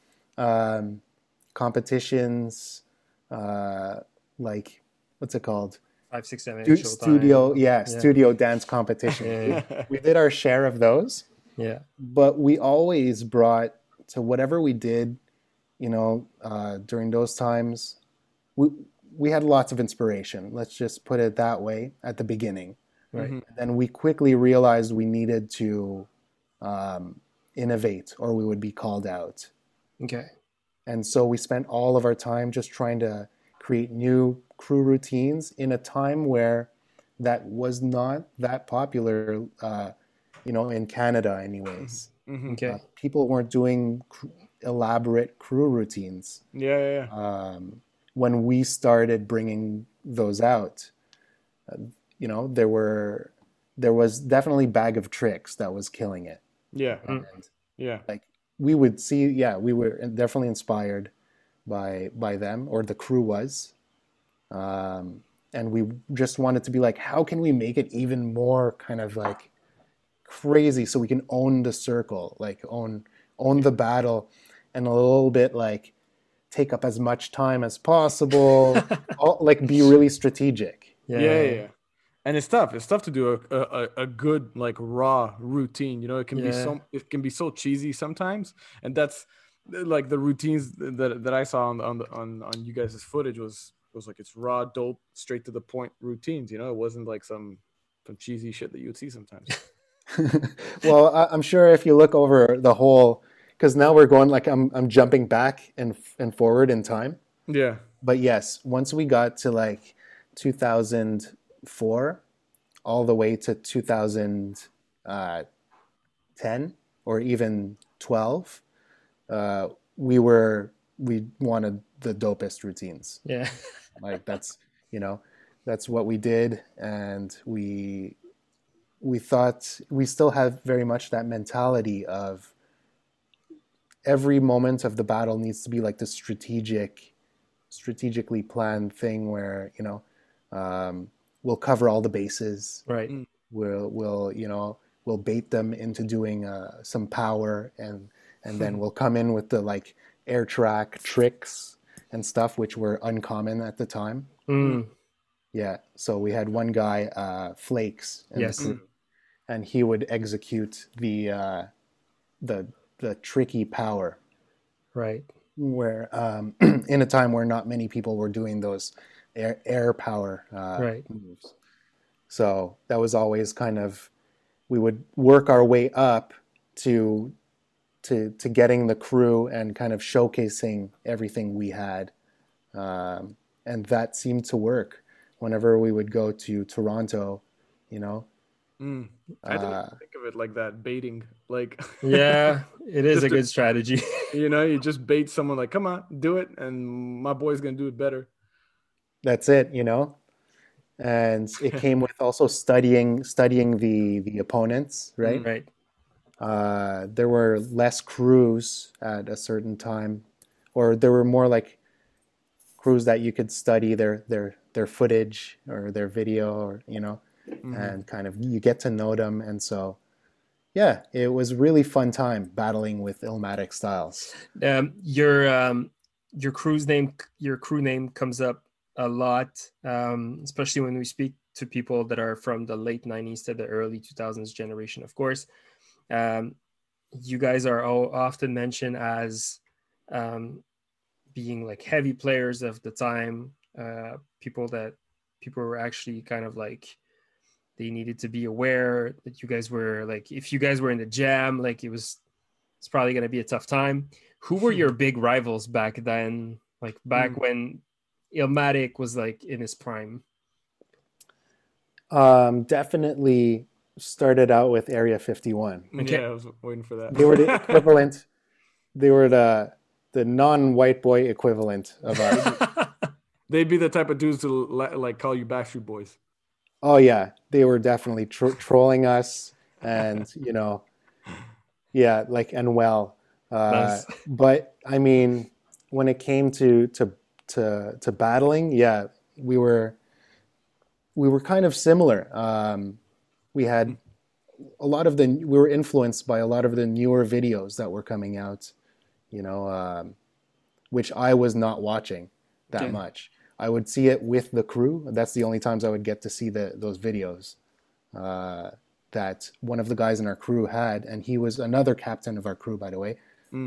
[SPEAKER 3] competitions, like what's it called?
[SPEAKER 1] 5, 6, 7, 8
[SPEAKER 3] Studio, studio dance competition.
[SPEAKER 1] Yeah.
[SPEAKER 3] We did our share of those.
[SPEAKER 1] Yeah.
[SPEAKER 3] But we always brought to whatever we did, during those times, we had lots of inspiration. Let's just put it that way at the beginning.
[SPEAKER 1] Right.
[SPEAKER 3] And then we quickly realized we needed to innovate, or we would be called out.
[SPEAKER 1] Okay.
[SPEAKER 3] And so we spent all of our time just trying to create new crew routines in a time where that was not that popular, in Canada anyways.
[SPEAKER 1] Okay.
[SPEAKER 3] People weren't doing elaborate crew routines.
[SPEAKER 2] Yeah.
[SPEAKER 3] When we started bringing those out, there was definitely Bag of Tricks that was killing it.
[SPEAKER 2] Yeah.
[SPEAKER 3] And
[SPEAKER 2] Yeah.
[SPEAKER 3] like we would see, we were definitely inspired by them, or the crew was. And we just wanted to be like, how can we make it even more kind of like crazy so we can own the circle, like own the battle, and a little bit like take up as much time as possible, like be really strategic.
[SPEAKER 2] Yeah. And it's tough. It's tough to do a good like raw routine. It can be so cheesy sometimes, and that's like the routines that I saw on you guys' footage was like it's raw, dope, straight to the point routines. It wasn't like some cheesy shit that you would see sometimes.
[SPEAKER 3] Well, I'm sure if you look over the whole, because now we're going like I'm jumping back and forward in time.
[SPEAKER 2] Yeah.
[SPEAKER 3] But yes, once we got to like 2004 all the way to 2010 or even 12, we wanted the dopest routines.
[SPEAKER 1] Yeah.
[SPEAKER 3] Like that's that's what we did, and we thought we still have very much that mentality of every moment of the battle needs to be like the strategically planned thing where, we'll cover all the bases.
[SPEAKER 1] Right.
[SPEAKER 3] We'll bait them into doing some power, and then we'll come in with the like air track tricks and stuff, which were uncommon at the time. Yeah. So we had one guy, Flakes, in the crew, and he would execute the tricky power.
[SPEAKER 1] Right.
[SPEAKER 3] Where in a time where not many people were doing those air power moves. So that was always kind of, we would work our way up to getting the crew and kind of showcasing everything we had. And that seemed to work whenever we would go to Toronto,
[SPEAKER 2] I didn't think of it like that, baiting. Like,
[SPEAKER 1] yeah, it is a good strategy.
[SPEAKER 2] You just bait someone like, come on, do it, and my boy's gonna do it better.
[SPEAKER 3] That's it, and it came with also studying the opponents, right?
[SPEAKER 1] Right.
[SPEAKER 3] There were less crews at a certain time, or there were more like crews that you could study their footage or their video, or and kind of you get to know them. And so yeah, it was really fun time battling with Illmatic Styles.
[SPEAKER 1] Your crew name comes up a lot, especially when we speak to people that are from the late 90s to the early 2000s generation, of course. You guys are all often mentioned as being like heavy players of the time, people were actually kind of like, they needed to be aware that you guys were like, if you guys were in the jam, like it's probably going to be a tough time. Who were your big rivals back then? Like back when Illmatic was like in his prime?
[SPEAKER 3] Definitely started out with Area 51.
[SPEAKER 2] Okay. Yeah, I was waiting for that.
[SPEAKER 3] They were the equivalent. They were the non-white boy equivalent of us.
[SPEAKER 2] They'd be the type of dudes to like call you Backstreet Boys.
[SPEAKER 3] Oh yeah, they were definitely trolling us, and yeah, like, and well.
[SPEAKER 1] Nice.
[SPEAKER 3] But I mean, when it came to battling, yeah, we were kind of similar. We had we were influenced by a lot of the newer videos that were coming out, which I was not watching that much. I would see it with the crew. That's the only times I would get to see those videos that one of the guys in our crew had, and he was another captain of our crew, by the way,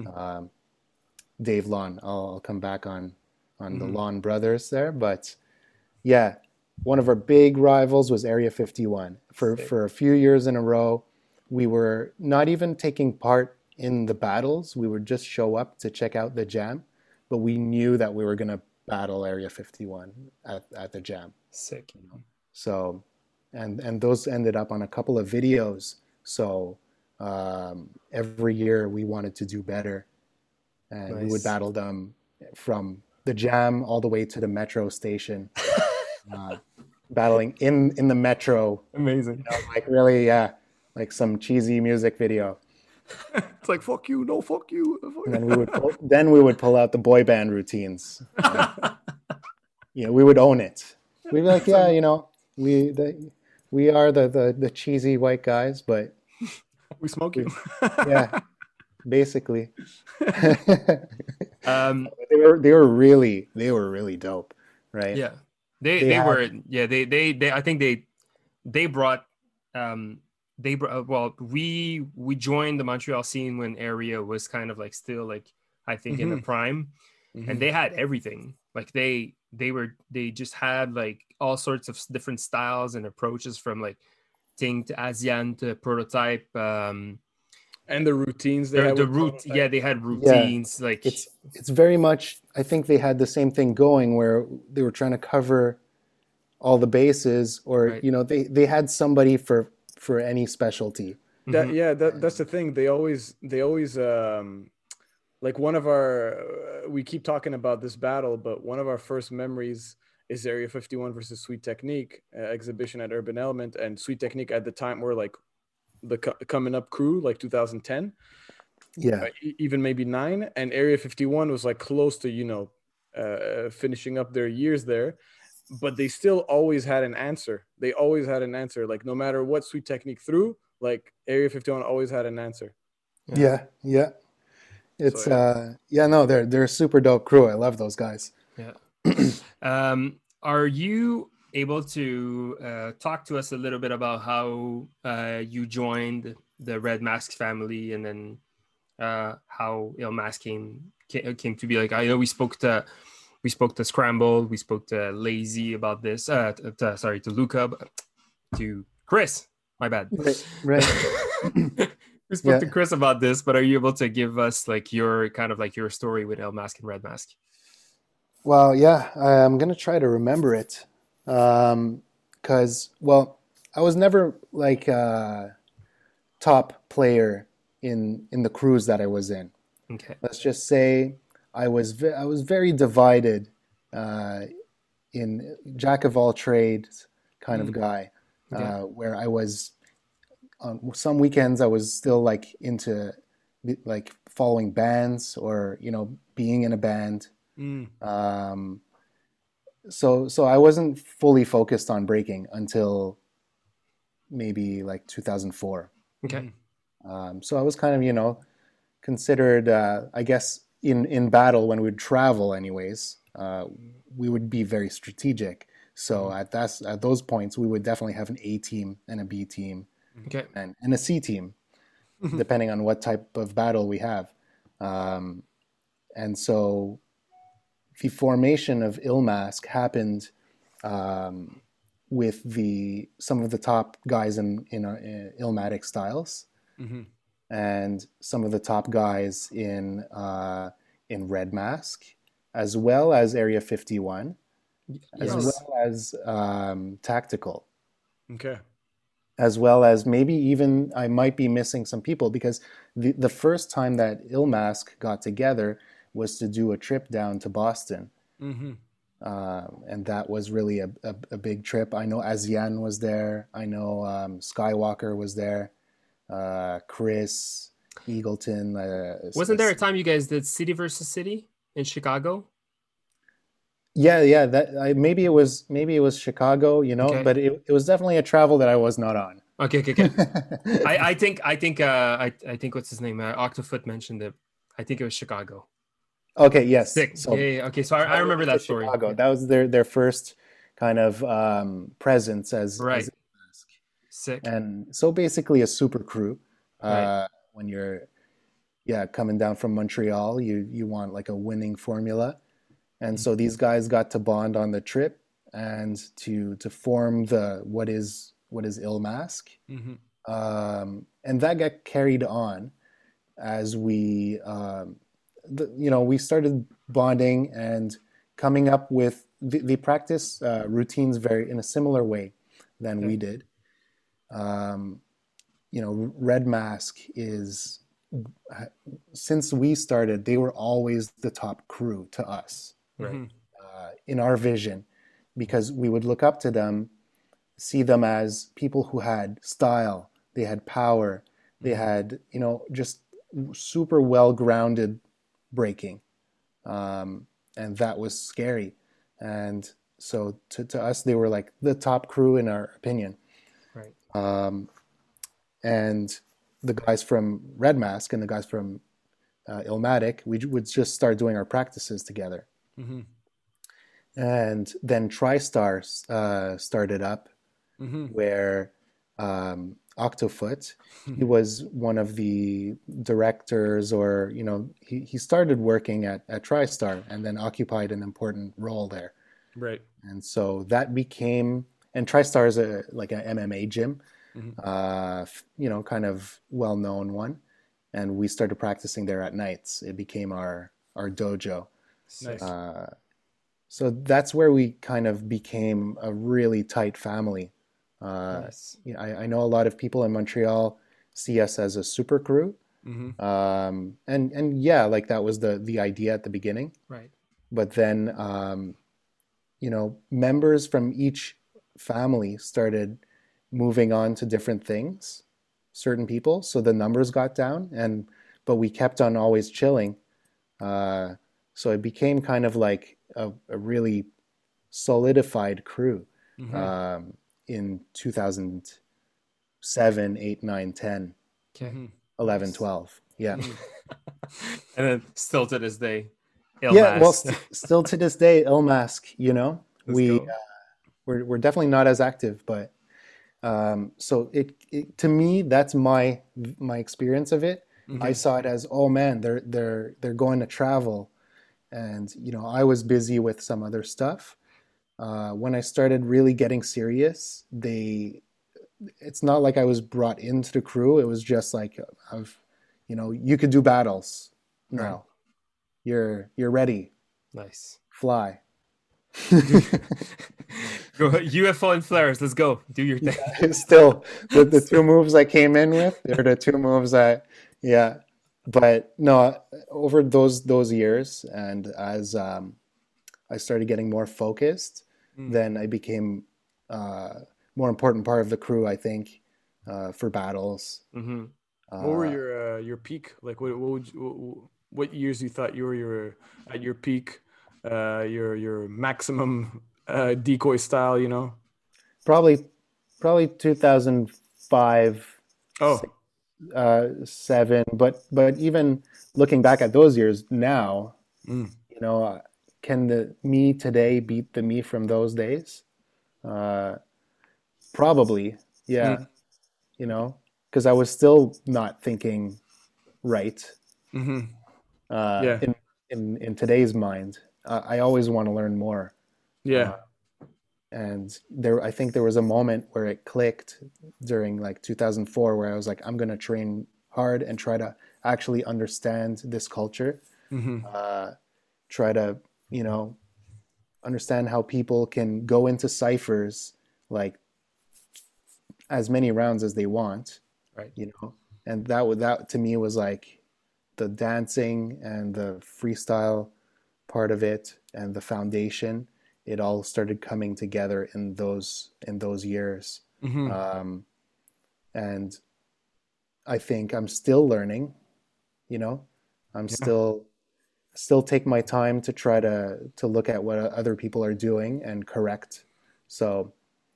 [SPEAKER 3] Dave Lawn. I'll come back on the Lawn brothers there, but yeah, one of our big rivals was Area 51. For a few years in a row, we were not even taking part in the battles. We would just show up to check out the jam, but we knew that we were going to battle Area 51 at the jam.
[SPEAKER 1] Sick.
[SPEAKER 3] So, and those ended up on a couple of videos. So every year we wanted to do better, and we would battle them from the jam all the way to the metro station. Battling in the metro.
[SPEAKER 1] Amazing.
[SPEAKER 3] Like really, yeah, like some cheesy music video.
[SPEAKER 2] It's like, fuck you, no, fuck you.
[SPEAKER 3] And then we would pull out the boy band routines. We would own it. We'd be like, yeah, we are the cheesy white guys, but
[SPEAKER 2] we smoke you.
[SPEAKER 3] Yeah, basically. They were really dope, right?
[SPEAKER 1] Yeah. They were, yeah, they I think they brought well, we joined the Montreal scene when Area was kind of like still like, I think in the prime, and they had everything. Like they just had like all sorts of different styles and approaches, from like Ting to Asian to Prototype, and
[SPEAKER 2] the routines
[SPEAKER 1] they had routines. Yeah. Like
[SPEAKER 3] it's very much, I think they had the same thing going, where they were trying to cover all the bases, or they had somebody for any specialty.
[SPEAKER 2] That's the thing. They always like one of our we keep talking about this battle, but one of our first memories is Area 51 versus Sweet Technique exhibition at Urban Element, and Sweet Technique at the time were like the coming up crew, like 2010, even maybe 9, and Area 51 was like close to finishing up their years there, but they still always had an answer. They always had an answer, like no matter what Sweet Technique threw, like Area 51 always had an answer.
[SPEAKER 3] Yeah. It's no, they're a super dope crew. I love those guys.
[SPEAKER 1] Yeah. Are you able to talk to us a little bit about how you joined the Red Mask family, and then how Mask came to be? Like, I know we spoke to Scramble, we spoke to Lazy about this. To Luca, to Chris. My bad.
[SPEAKER 3] Right.
[SPEAKER 1] We spoke to Chris about this, but are you able to give us like your kind of like your story with El Mask and Red Mask?
[SPEAKER 3] Well, yeah, I'm gonna try to remember it, because I was never like a top player in the crews that I was in.
[SPEAKER 1] Okay.
[SPEAKER 3] Let's just say I was very divided, in jack of all trades kind of guy, where I was on some weekends I was still like into like following bands or being in a band. So I wasn't fully focused on breaking until maybe like 2004.
[SPEAKER 1] Okay.
[SPEAKER 3] So I was kind of considered, I guess in battle when we'd travel anyways, we would be very strategic. So at those points we would definitely have an A team and a B team,
[SPEAKER 1] okay,
[SPEAKER 3] and a C team, depending on what type of battle we have. And so the formation of Ilmask happened with some of the top guys in Ilmatic Styles, and some of the top guys in Red Mask, as well as Area 51, as well as Tactical.
[SPEAKER 2] Okay.
[SPEAKER 3] As well as maybe even I might be missing some people, because the first time that Ilmask got together was to do a trip down to Boston. And that was really a big trip. I know Azian was there. I know Skywalker was there. Chris, Eagleton.
[SPEAKER 1] Wasn't there a time you guys did City versus City in Chicago?
[SPEAKER 3] Yeah. Maybe it was Chicago,
[SPEAKER 1] Okay.
[SPEAKER 3] but it was definitely a travel that I was not on.
[SPEAKER 1] Okay. I think what's his name? Octofoot mentioned it. I think it was Chicago.
[SPEAKER 3] Okay. Yes.
[SPEAKER 1] Sick. So, yeah. Okay. So I remember that story.
[SPEAKER 3] Chicago. Yeah. That was their first kind of presence as
[SPEAKER 1] right.
[SPEAKER 3] As
[SPEAKER 1] sick.
[SPEAKER 3] And so basically a super crew.
[SPEAKER 1] Right.
[SPEAKER 3] When you're coming down from Montreal, you want like a winning formula. And so these guys got to bond on the trip and to form what is Ilmask. And that got carried on as we we started bonding and coming up with the practice routines very in a similar way than we did. Red Mask is, since we started, they were always the top crew to us.
[SPEAKER 1] Right.
[SPEAKER 3] In our vision, because we would look up to them, see them as people who had style, they had power, they had just super well-grounded breaking, and that was scary. And so to us, they were like the top crew in our opinion.
[SPEAKER 1] Right.
[SPEAKER 3] And the guys from Red Mask and the guys from Ilmatic, we would just start doing our practices together. And then TriStar started up, where Octofoot, he was one of the directors, or he started working at TriStar and then occupied an important role there.
[SPEAKER 2] Right.
[SPEAKER 3] And so that became, and TriStar is like an MMA gym, kind of well-known one, and we started practicing there at nights. It became our dojo.
[SPEAKER 2] Nice.
[SPEAKER 3] So that's where we kind of became a really tight family.
[SPEAKER 1] Nice.
[SPEAKER 3] I know a lot of people in Montreal see us as a super crew, and like that was the idea at the beginning.
[SPEAKER 1] Right.
[SPEAKER 3] But then members from each family started moving on to different things, certain people, so the numbers got down, but we kept on always chilling. So it became kind of like a really solidified crew in 2007, 8, 9, 10,
[SPEAKER 1] Okay.
[SPEAKER 3] 11, 12. Yeah.
[SPEAKER 1] And then still to this day,
[SPEAKER 3] Yeah, well,
[SPEAKER 1] Ilmask.
[SPEAKER 3] still to this day, Ilmask,
[SPEAKER 1] Let's go.
[SPEAKER 3] we're definitely not as active, but so it to me, that's my experience of it. I saw it as, oh man, they're going to travel, and I was busy with some other stuff. When I started really getting serious, it's not like I was brought into the crew. It was just like, you could do battles now. You're ready.
[SPEAKER 1] Nice.
[SPEAKER 3] Fly.
[SPEAKER 1] Go UFO and flares. Let's go. Do your thing.
[SPEAKER 3] Still, the two moves I came in with, they're the two moves yeah. But no, over those years, and as I started getting more focused, then I became more important part of the crew, I think, for battles.
[SPEAKER 1] Mm-hmm.
[SPEAKER 2] What were your peak? Like what years you thought you were at your peak, your maximum decoy style?
[SPEAKER 3] Probably 2005.
[SPEAKER 2] Oh,
[SPEAKER 3] 7, but even looking back at those years now, can the me today beat the me from those days? Probably, yeah. Because I was still not thinking right.
[SPEAKER 2] Yeah.
[SPEAKER 3] In today's mind, I always want to learn more.
[SPEAKER 2] Yeah.
[SPEAKER 3] And I think there was a moment where it clicked during like 2004, where I was like, I'm going to train hard and try to actually understand this culture. Try to, understand how people can go into ciphers like as many rounds as they want,
[SPEAKER 1] Right.
[SPEAKER 3] And that to me was like the dancing and the freestyle part of it and the foundation. It all started coming together in those years. And I think I'm still learning, I'm still take my time to try to look at what other people are doing and correct. So,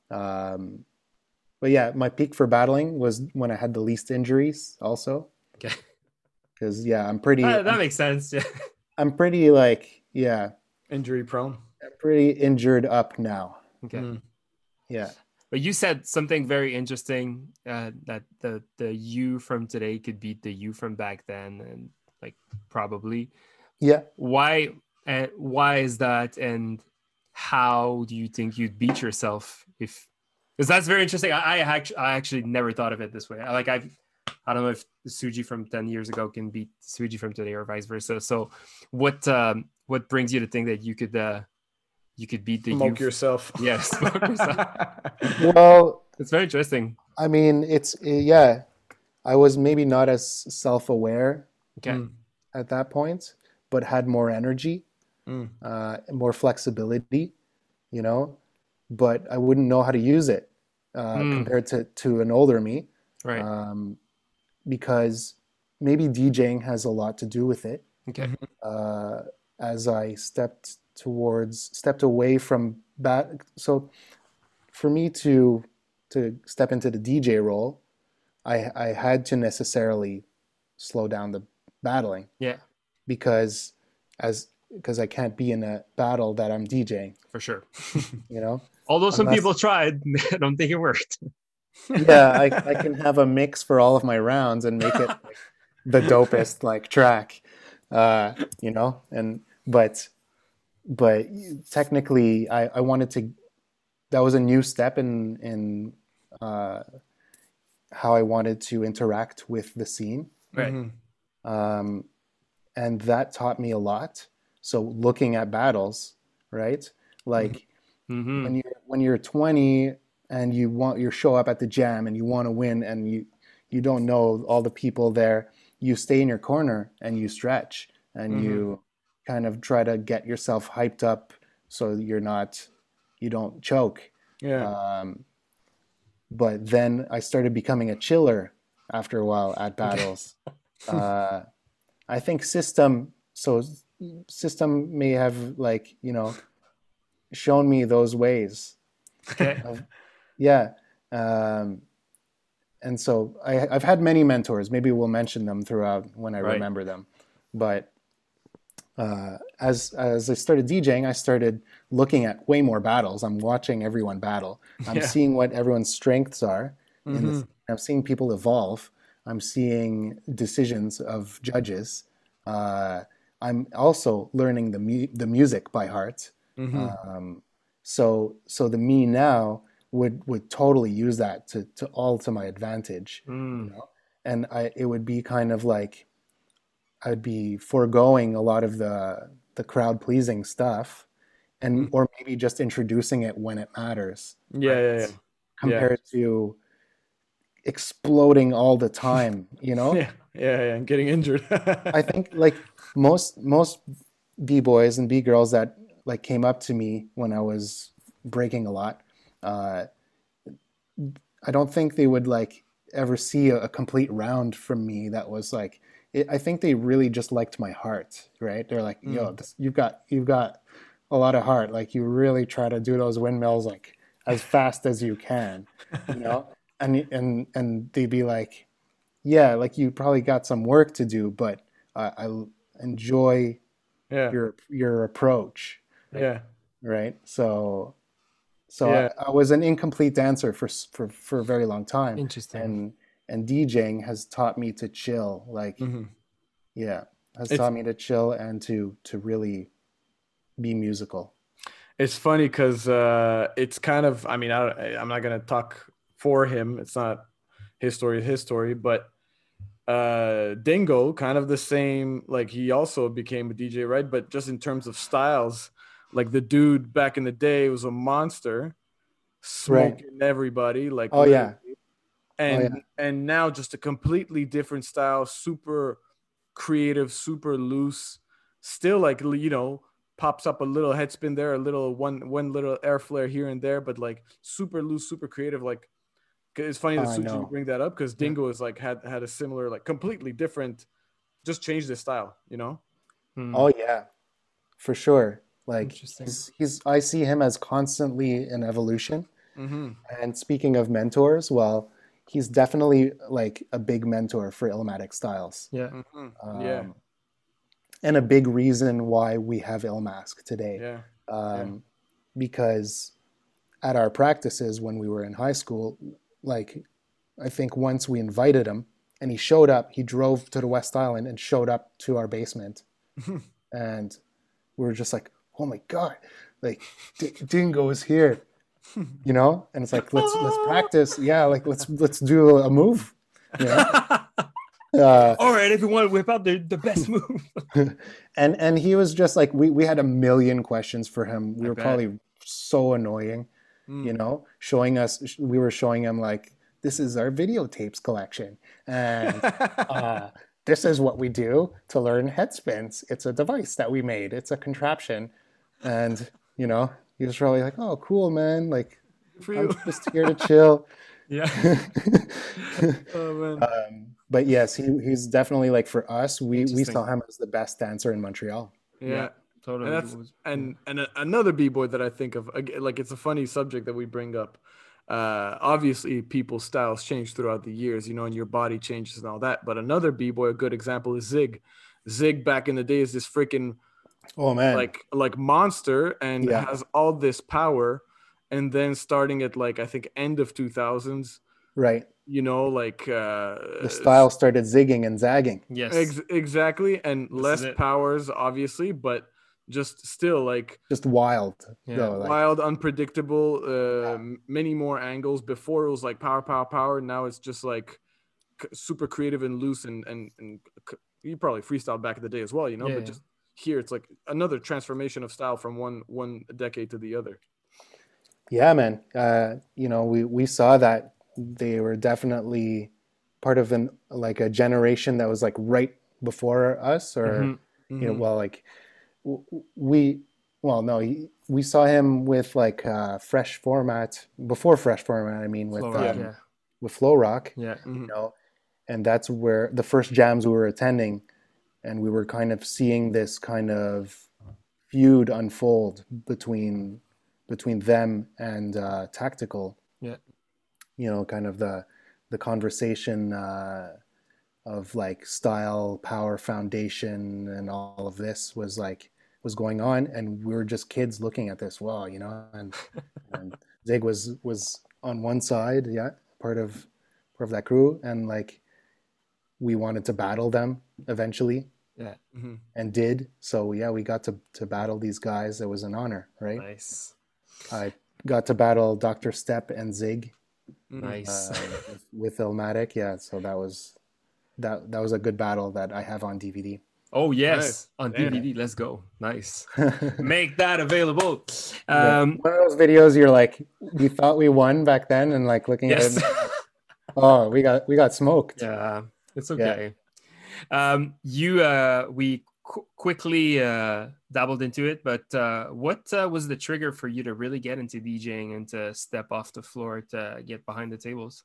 [SPEAKER 3] but yeah, my peak for battling was when I had the least injuries also.
[SPEAKER 1] Okay.
[SPEAKER 3] Because I'm pretty,
[SPEAKER 1] That makes sense. Yeah.
[SPEAKER 3] I'm pretty like,
[SPEAKER 2] injury prone.
[SPEAKER 3] I'm pretty injured up now.
[SPEAKER 1] Okay.
[SPEAKER 3] Yeah.
[SPEAKER 1] But you said something very interesting, that the you from today could beat the you from back then, and like probably.
[SPEAKER 3] Yeah.
[SPEAKER 1] Why is that, and how do you think you'd beat yourself? Because that's very interesting. I actually never thought of it this way. I don't know if Suji from 10 years ago can beat Suji from today or vice versa. So what brings you to think that you could beat the
[SPEAKER 2] Smoke yourself?
[SPEAKER 1] Yes, smoke yourself.
[SPEAKER 3] Well,
[SPEAKER 1] it's very interesting.
[SPEAKER 3] I mean, I was maybe not as self-aware at that point, but had more energy, more flexibility, but I wouldn't know how to use it compared to an older me.
[SPEAKER 1] Right.
[SPEAKER 3] Because maybe DJing has a lot to do with it.
[SPEAKER 1] Okay.
[SPEAKER 3] As I stepped away from that. So for me to step into the DJ role, I had to necessarily slow down the battling.
[SPEAKER 1] Yeah.
[SPEAKER 3] Because I can't be in a battle that I'm DJing.
[SPEAKER 1] For sure.
[SPEAKER 3] Although
[SPEAKER 1] some people tried, I don't think it worked.
[SPEAKER 3] Yeah, I can have a mix for all of my rounds and make it like the dopest like track, and but technically I wanted to, that was a new step in how I wanted to interact with the scene.
[SPEAKER 1] Right.
[SPEAKER 3] And that taught me a lot. So looking at battles, right? Like when you're 20 and you show up at the jam and you want to win and you don't know all the people there, you stay in your corner and you stretch and you kind of try to get yourself hyped up so you're not you don't choke.
[SPEAKER 2] Yeah.
[SPEAKER 3] But then I started becoming a chiller after a while at battles. I think System may have like, shown me those ways.
[SPEAKER 1] Okay.
[SPEAKER 3] Yeah. And so I've had many mentors. Maybe we'll mention them throughout when I remember them. But as I started DJing, I started looking at way more battles. I'm watching everyone battle. I'm seeing what everyone's strengths are. I'm seeing people evolve. I'm seeing decisions of judges. I'm also learning the music by heart. So the me now would totally use that to my advantage. And it would be kind of like I'd be foregoing a lot of the crowd pleasing stuff, or maybe just introducing it when it matters.
[SPEAKER 2] Yeah.
[SPEAKER 3] Compared to exploding all the time,
[SPEAKER 2] Yeah, and getting injured.
[SPEAKER 3] I think like most b-boys and b-girls that like came up to me when I was breaking a lot, I don't think they would like ever see a complete round from me that was like I think they really just liked my heart, right? They're like, yo, you've got a lot of heart. Like you really try to do those windmills like as fast as you can, and they'd be like, yeah, like you probably got some work to do, but I enjoy your approach.
[SPEAKER 2] Yeah.
[SPEAKER 3] Right. So I was an incomplete dancer for a very long time.
[SPEAKER 1] Interesting.
[SPEAKER 3] And DJing has taught me to chill, like, taught me to chill and to really be musical.
[SPEAKER 2] It's funny because it's kind of, I mean, I'm not going to talk for him. It's not his story, but Dingo, kind of the same, like he also became a DJ, right? But just in terms of styles, like the dude back in the day was a monster, smoking everybody, like and now just a completely different style, super creative, super loose, still like pops up a little head spin there, a little one little air flare here and there, but like super loose, super creative. Like it's funny that Suji you bring that up because Dingo is like had a similar, like completely different, just changed his style,
[SPEAKER 3] Oh yeah, for sure. Like I see him as constantly in evolution. And speaking of mentors, well, he's definitely like a big mentor for Illmatic Styles. And a big reason why we have Illmask today. Because at our practices when we were in high school, like I think once we invited him and he showed up, he drove to the West Island and showed up to our basement. And we were just like, oh my God, like Dingo is here. And it's like let's practice, like let's do a move,
[SPEAKER 1] all right, everyone, whip out the best move.
[SPEAKER 3] and he was just like we had a million questions for him. We were probably so annoying, we were showing him like, this is our videotapes collection, and this is what we do to learn head spins. It's a device that we made, it's a contraption. And he was probably like, "Oh, cool, man! Like, I'm just here to chill."
[SPEAKER 2] Oh man.
[SPEAKER 3] But yes, he's definitely like for us. We saw him as the best dancer in Montreal.
[SPEAKER 2] Yeah,
[SPEAKER 1] totally.
[SPEAKER 2] And another b-boy that I think of, like it's a funny subject that we bring up. Obviously, people's styles change throughout the years, and your body changes and all that. But another b-boy, a good example is Zig. Zig back in the day is this freaking like monster and has all this power, and then starting at like I think end of 2000s,
[SPEAKER 3] right,
[SPEAKER 2] like
[SPEAKER 3] the style started zigging and zagging.
[SPEAKER 2] Yes, exactly. And less powers obviously, but just still like
[SPEAKER 3] just wild,
[SPEAKER 2] wild, unpredictable, many more angles. Before it was like power. Now it's just like super creative and loose, and you probably freestyled back in the day as well, but just here it's like another transformation of style from one decade to the other.
[SPEAKER 3] Yeah, man. We saw that they were definitely part of a generation that was like right before us, or well, like we well, no, we saw him with like Fresh Format, before Fresh Format, I mean,
[SPEAKER 1] Flow
[SPEAKER 3] with
[SPEAKER 1] Rock, yeah.
[SPEAKER 3] with Flow Rock,
[SPEAKER 1] Yeah.
[SPEAKER 3] you know, and that's where the first jams we were attending, and we were kind of seeing this kind of feud unfold between them and Tactical.
[SPEAKER 1] Yeah.
[SPEAKER 3] You know, kind of the conversation of like style, power, foundation, and all of this was going on, and we were just kids looking at this. Wow, you know, and Zig was on one side, yeah, part of that crew, and like we wanted to battle them eventually,
[SPEAKER 1] Yeah.
[SPEAKER 3] and did. So yeah, we got to battle these guys. It was an honor, right?
[SPEAKER 1] Nice.
[SPEAKER 3] I got to battle Dr. Step and Zig
[SPEAKER 1] Nice.
[SPEAKER 3] with Illmatic. Yeah, so that was a good battle that I have on DVD.
[SPEAKER 1] Oh yes,
[SPEAKER 2] Nice.
[SPEAKER 1] on
[SPEAKER 2] Damn.
[SPEAKER 1] DVD. Let's go. Nice. Make that available.
[SPEAKER 3] Yeah. One of those videos you're like, we thought we won back then, and like looking
[SPEAKER 1] Yes.
[SPEAKER 3] at it, oh, we got smoked.
[SPEAKER 1] Yeah, it's okay. We quickly dabbled into it, but what was the trigger for you to really get into DJing and to step off the floor to get behind the tables?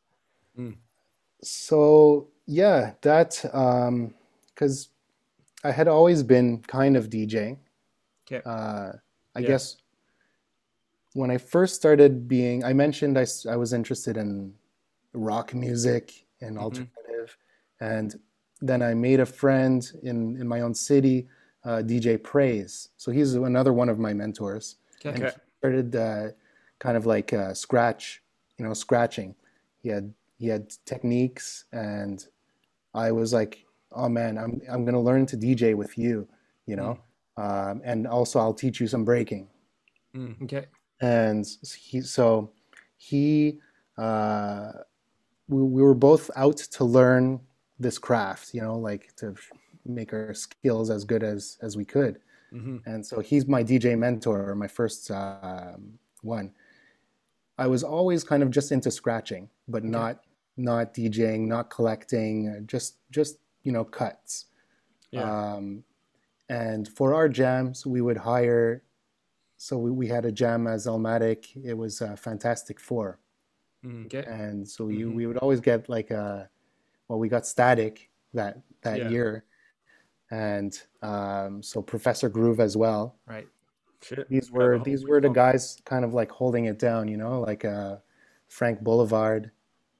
[SPEAKER 3] So yeah, that because I had always been kind of DJing.
[SPEAKER 1] Okay.
[SPEAKER 3] I guess when I first started being, I mentioned I was interested in rock music and alternative, and then I made a friend in my own city, DJ Praise. So he's another one of my mentors.
[SPEAKER 1] Okay.
[SPEAKER 3] And he started kind of like scratching. He had techniques, and I was like, oh man, I'm gonna learn to DJ with you, you know, and also I'll teach you some breaking.
[SPEAKER 1] Okay.
[SPEAKER 3] And we were both out to learn this craft, you know, like to make our skills as good as we could. And so he's my DJ mentor, my first one. I was always kind of just into scratching, but not DJing, not collecting, just you know, cuts. And for our jams, we would hire. So we had a jam as Illmatic. It was Fantastic Four.
[SPEAKER 1] Okay.
[SPEAKER 3] And so we would always get like we got Static that year, and so Professor Groove as well.
[SPEAKER 1] Right.
[SPEAKER 2] Shit.
[SPEAKER 3] These were the guys kind of like holding it down, you know, like Frank Boulevard.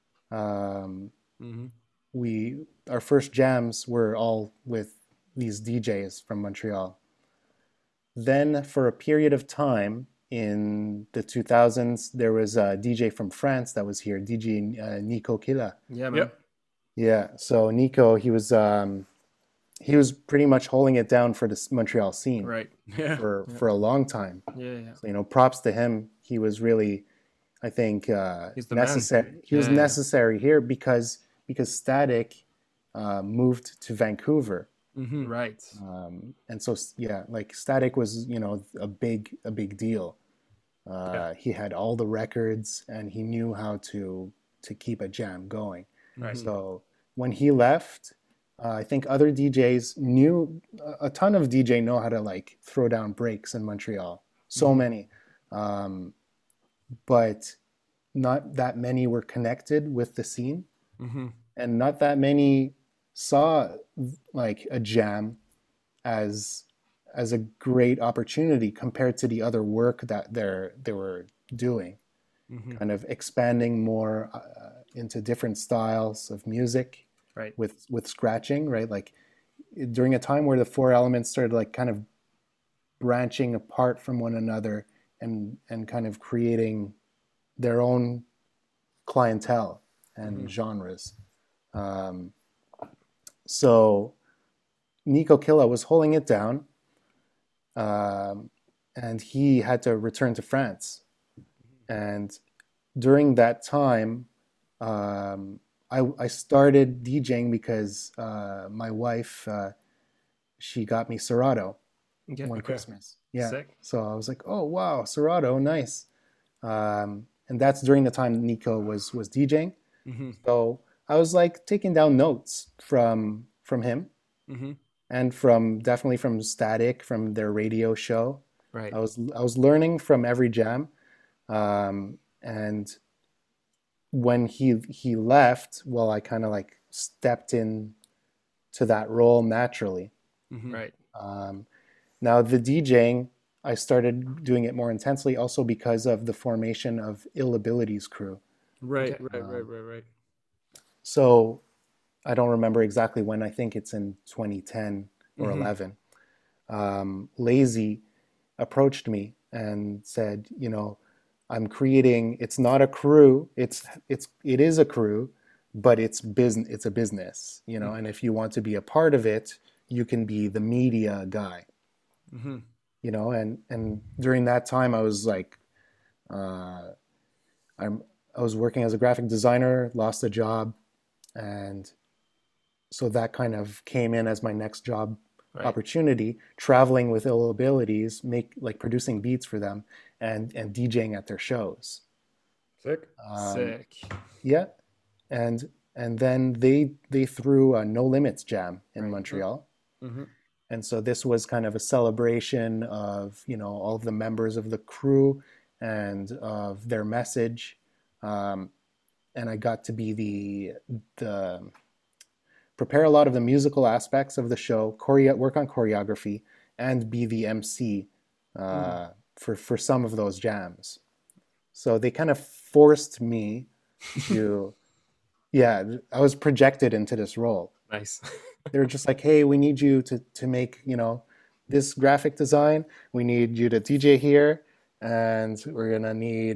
[SPEAKER 3] Our first jams were all with these DJs from Montreal. Then for a period of time in the 2000s, there was a DJ from France that was here, DJ Nico Killa.
[SPEAKER 1] Yeah, man.
[SPEAKER 2] Yep.
[SPEAKER 3] Yeah, so Nico, he was pretty much holding it down for the Montreal scene,
[SPEAKER 1] Right.
[SPEAKER 2] Yeah.
[SPEAKER 3] for a long time.
[SPEAKER 1] Yeah.
[SPEAKER 3] So, you know, props to him. He was really, I think,
[SPEAKER 1] He's the
[SPEAKER 3] necessary.
[SPEAKER 1] man.
[SPEAKER 3] He was necessary here because Static moved to Vancouver.
[SPEAKER 1] Right.
[SPEAKER 3] And so yeah, like Static was, you know, a big deal. He had all the records, and he knew how to keep a jam going.
[SPEAKER 1] Right.
[SPEAKER 3] So when he left, I think other DJs knew, a ton of DJ know how to like throw down breaks in Montreal. So many, but not that many were connected with the scene, and not that many saw like a jam as a great opportunity compared to the other work that they were doing, kind of expanding more into different styles of music,
[SPEAKER 1] Right.
[SPEAKER 3] with scratching, right? Like during a time where the Four Elements started like kind of branching apart from one another and kind of creating their own clientele and genres. So Nico Killa was holding it down, and he had to return to France. And during that time, I started DJing because my wife, she got me Serato one Christmas. Yeah.
[SPEAKER 1] Sick.
[SPEAKER 3] So I was like, oh, wow, Serato, nice. And that's during the time Nico was DJing. So I was like taking down notes from him, and definitely from Static, from their radio show.
[SPEAKER 1] Right.
[SPEAKER 3] I was learning from every jam, and when he left, well, I kind of like stepped in to that role naturally.
[SPEAKER 1] Right.
[SPEAKER 3] Now the DJing, I started doing it more intensely, also because of the formation of Ill Abilities crew.
[SPEAKER 2] Right,
[SPEAKER 1] Okay.
[SPEAKER 2] right.
[SPEAKER 3] So I don't remember exactly when. I think it's in 2010 or 11. Lazy approached me and said, you know, I'm creating. It's not a crew. It is a crew, but it's business. It's a business, you know. And if you want to be a part of it, you can be the media guy, you know. And during that time, I was like, uh, I was working as a graphic designer, lost a job, and so that kind of came in as my next job opportunity, traveling with Ill Abilities, producing beats for them and DJing at their shows.
[SPEAKER 2] Sick.
[SPEAKER 1] Sick.
[SPEAKER 3] Yeah. And then they threw a No Limits jam in Montreal. And so this was kind of a celebration of, you know, all of the members of the crew and of their message. And I got to be the prepare a lot of the musical aspects of the show, work on choreography, and be the MC for some of those jams. So they kind of forced me to, yeah, I was projected into this role.
[SPEAKER 1] Nice.
[SPEAKER 3] They were just like, hey, we need you to make, you know, this graphic design. We need you to DJ here, and we're gonna need.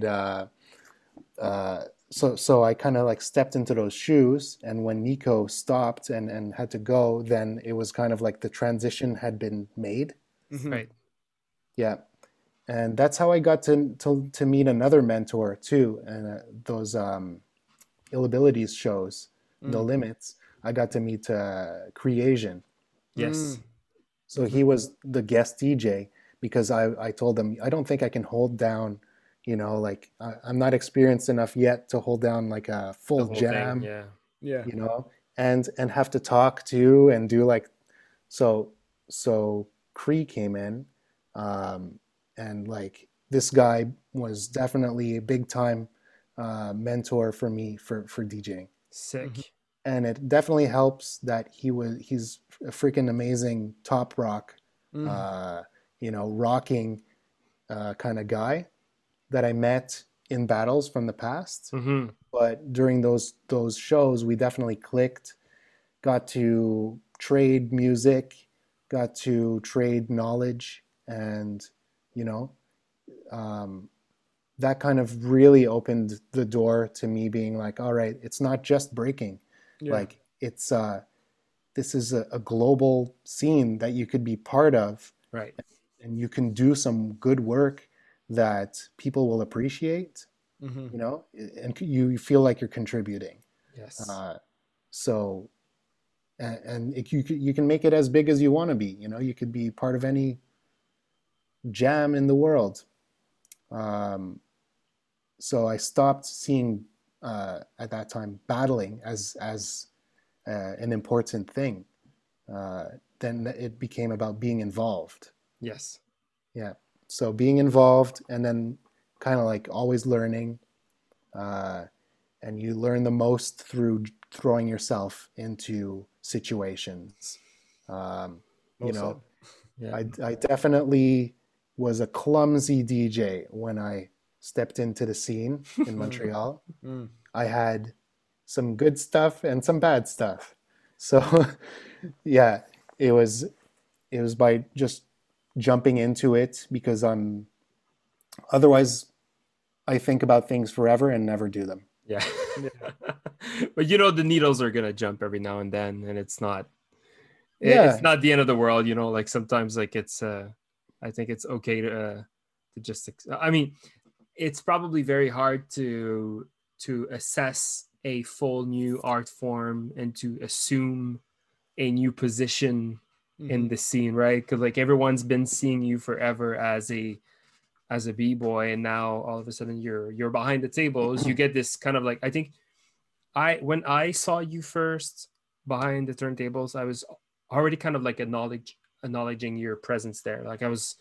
[SPEAKER 3] So I kind of like stepped into those shoes, and when Nico stopped and had to go, then it was kind of like the transition had been made.
[SPEAKER 1] Right.
[SPEAKER 3] Yeah, and that's how I got to meet another mentor too, and those Ill Abilities shows, No Limits. I got to meet Creation.
[SPEAKER 1] Yes.
[SPEAKER 3] So he was the guest DJ because I told him I don't think I can hold down, you know, like I'm not experienced enough yet to hold down like a full jam,
[SPEAKER 1] Thing,
[SPEAKER 2] Yeah.
[SPEAKER 3] you know, and have to talk to and do like so. Cree came in, and like this guy was definitely a big time mentor for me for DJing.
[SPEAKER 1] Sick.
[SPEAKER 3] And it definitely helps that he's a freaking amazing top rock, you know, rocking kind of guy that I met in battles from the past. But during those shows, we definitely clicked, got to trade music, got to trade knowledge, and you know, that kind of really opened the door to me being like, all right, it's not just breaking. Like it's this is a global scene that you could be part of,
[SPEAKER 1] Right.
[SPEAKER 3] and you can do some good work that people will appreciate, you know, and you feel like you're contributing.
[SPEAKER 1] Yes.
[SPEAKER 3] So, and you can make it as big as you want to be. You know, you could be part of any jam in the world. So I stopped seeing at that time battling as an important thing. Then it became about being involved.
[SPEAKER 1] Yes.
[SPEAKER 3] Yeah. So being involved, and then kind of like always learning, and you learn the most through throwing yourself into situations. You know, I definitely was a clumsy DJ when I stepped into the scene in Montreal. I had some good stuff and some bad stuff. So yeah, it was by just jumping into it, because otherwise I think about things forever and never do them.
[SPEAKER 1] Yeah. But you know, the needles are gonna jump every now and then, and it's not it's not the end of the world, you know. Like sometimes, like it's I think it's okay to just I mean, it's probably very hard to assess a full new art form and to assume a new position in the scene, right? Because like everyone's been seeing you forever as a b-boy, and now all of a sudden you're behind the tables. You get this kind of like, I think when I saw you first behind the turntables, I was already kind of like acknowledging your presence there. Like I was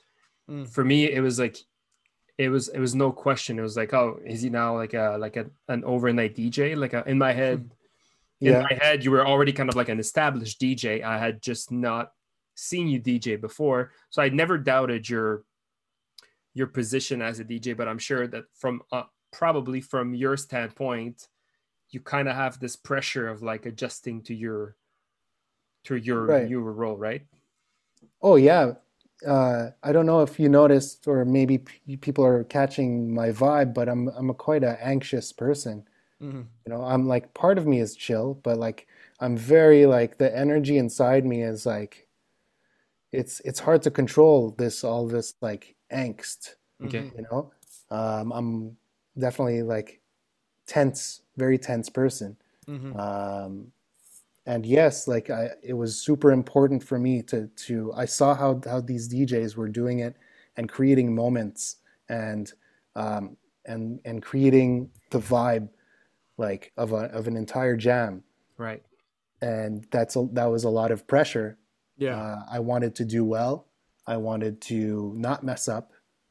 [SPEAKER 1] for me, it was like, it was no question. It was like, oh, is he now like an overnight DJ? Like in my head,
[SPEAKER 3] Yeah.
[SPEAKER 1] you were already kind of like an established DJ. I had just not seen you DJ before, so I never doubted your position as a DJ. But I'm sure that from probably from your standpoint, you kind of have this pressure of like adjusting to your
[SPEAKER 3] Right.
[SPEAKER 1] newer role, right?
[SPEAKER 3] Oh yeah. I don't know if you noticed, or maybe people are catching my vibe, but I'm a quite an anxious person.
[SPEAKER 2] Mm-hmm.
[SPEAKER 3] You know, I'm like, part of me is chill, but like I'm very like, the energy inside me is like, it's hard to control all this like angst,
[SPEAKER 1] Okay.
[SPEAKER 3] you know. I'm definitely like tense, very tense person.
[SPEAKER 2] Mm-hmm.
[SPEAKER 3] And yes, like it was super important for me I saw how these DJs were doing it and creating moments, and and creating the vibe like of an entire jam.
[SPEAKER 1] Right.
[SPEAKER 3] And that was a lot of pressure.
[SPEAKER 2] Yeah.
[SPEAKER 3] I wanted to do well. I wanted to not mess up.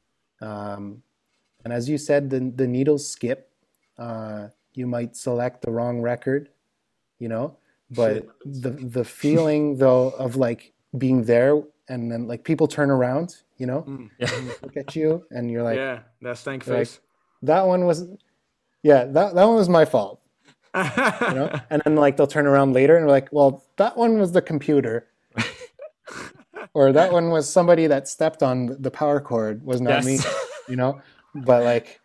[SPEAKER 3] And as you said, the needles skip. You might select the wrong record, you know, but
[SPEAKER 2] Shit.
[SPEAKER 3] the feeling though of like being there, and then like people turn around, you know,
[SPEAKER 1] Yeah.
[SPEAKER 3] look at you, and you're like,
[SPEAKER 2] Yeah, that stank
[SPEAKER 3] you're like,
[SPEAKER 2] face.
[SPEAKER 3] that one was, yeah, that one was my fault, you know. And then like they'll turn around later and like, well, that one was the computer, or that one was somebody that stepped on the power cord, was not me,
[SPEAKER 1] Yes.
[SPEAKER 3] you know. But like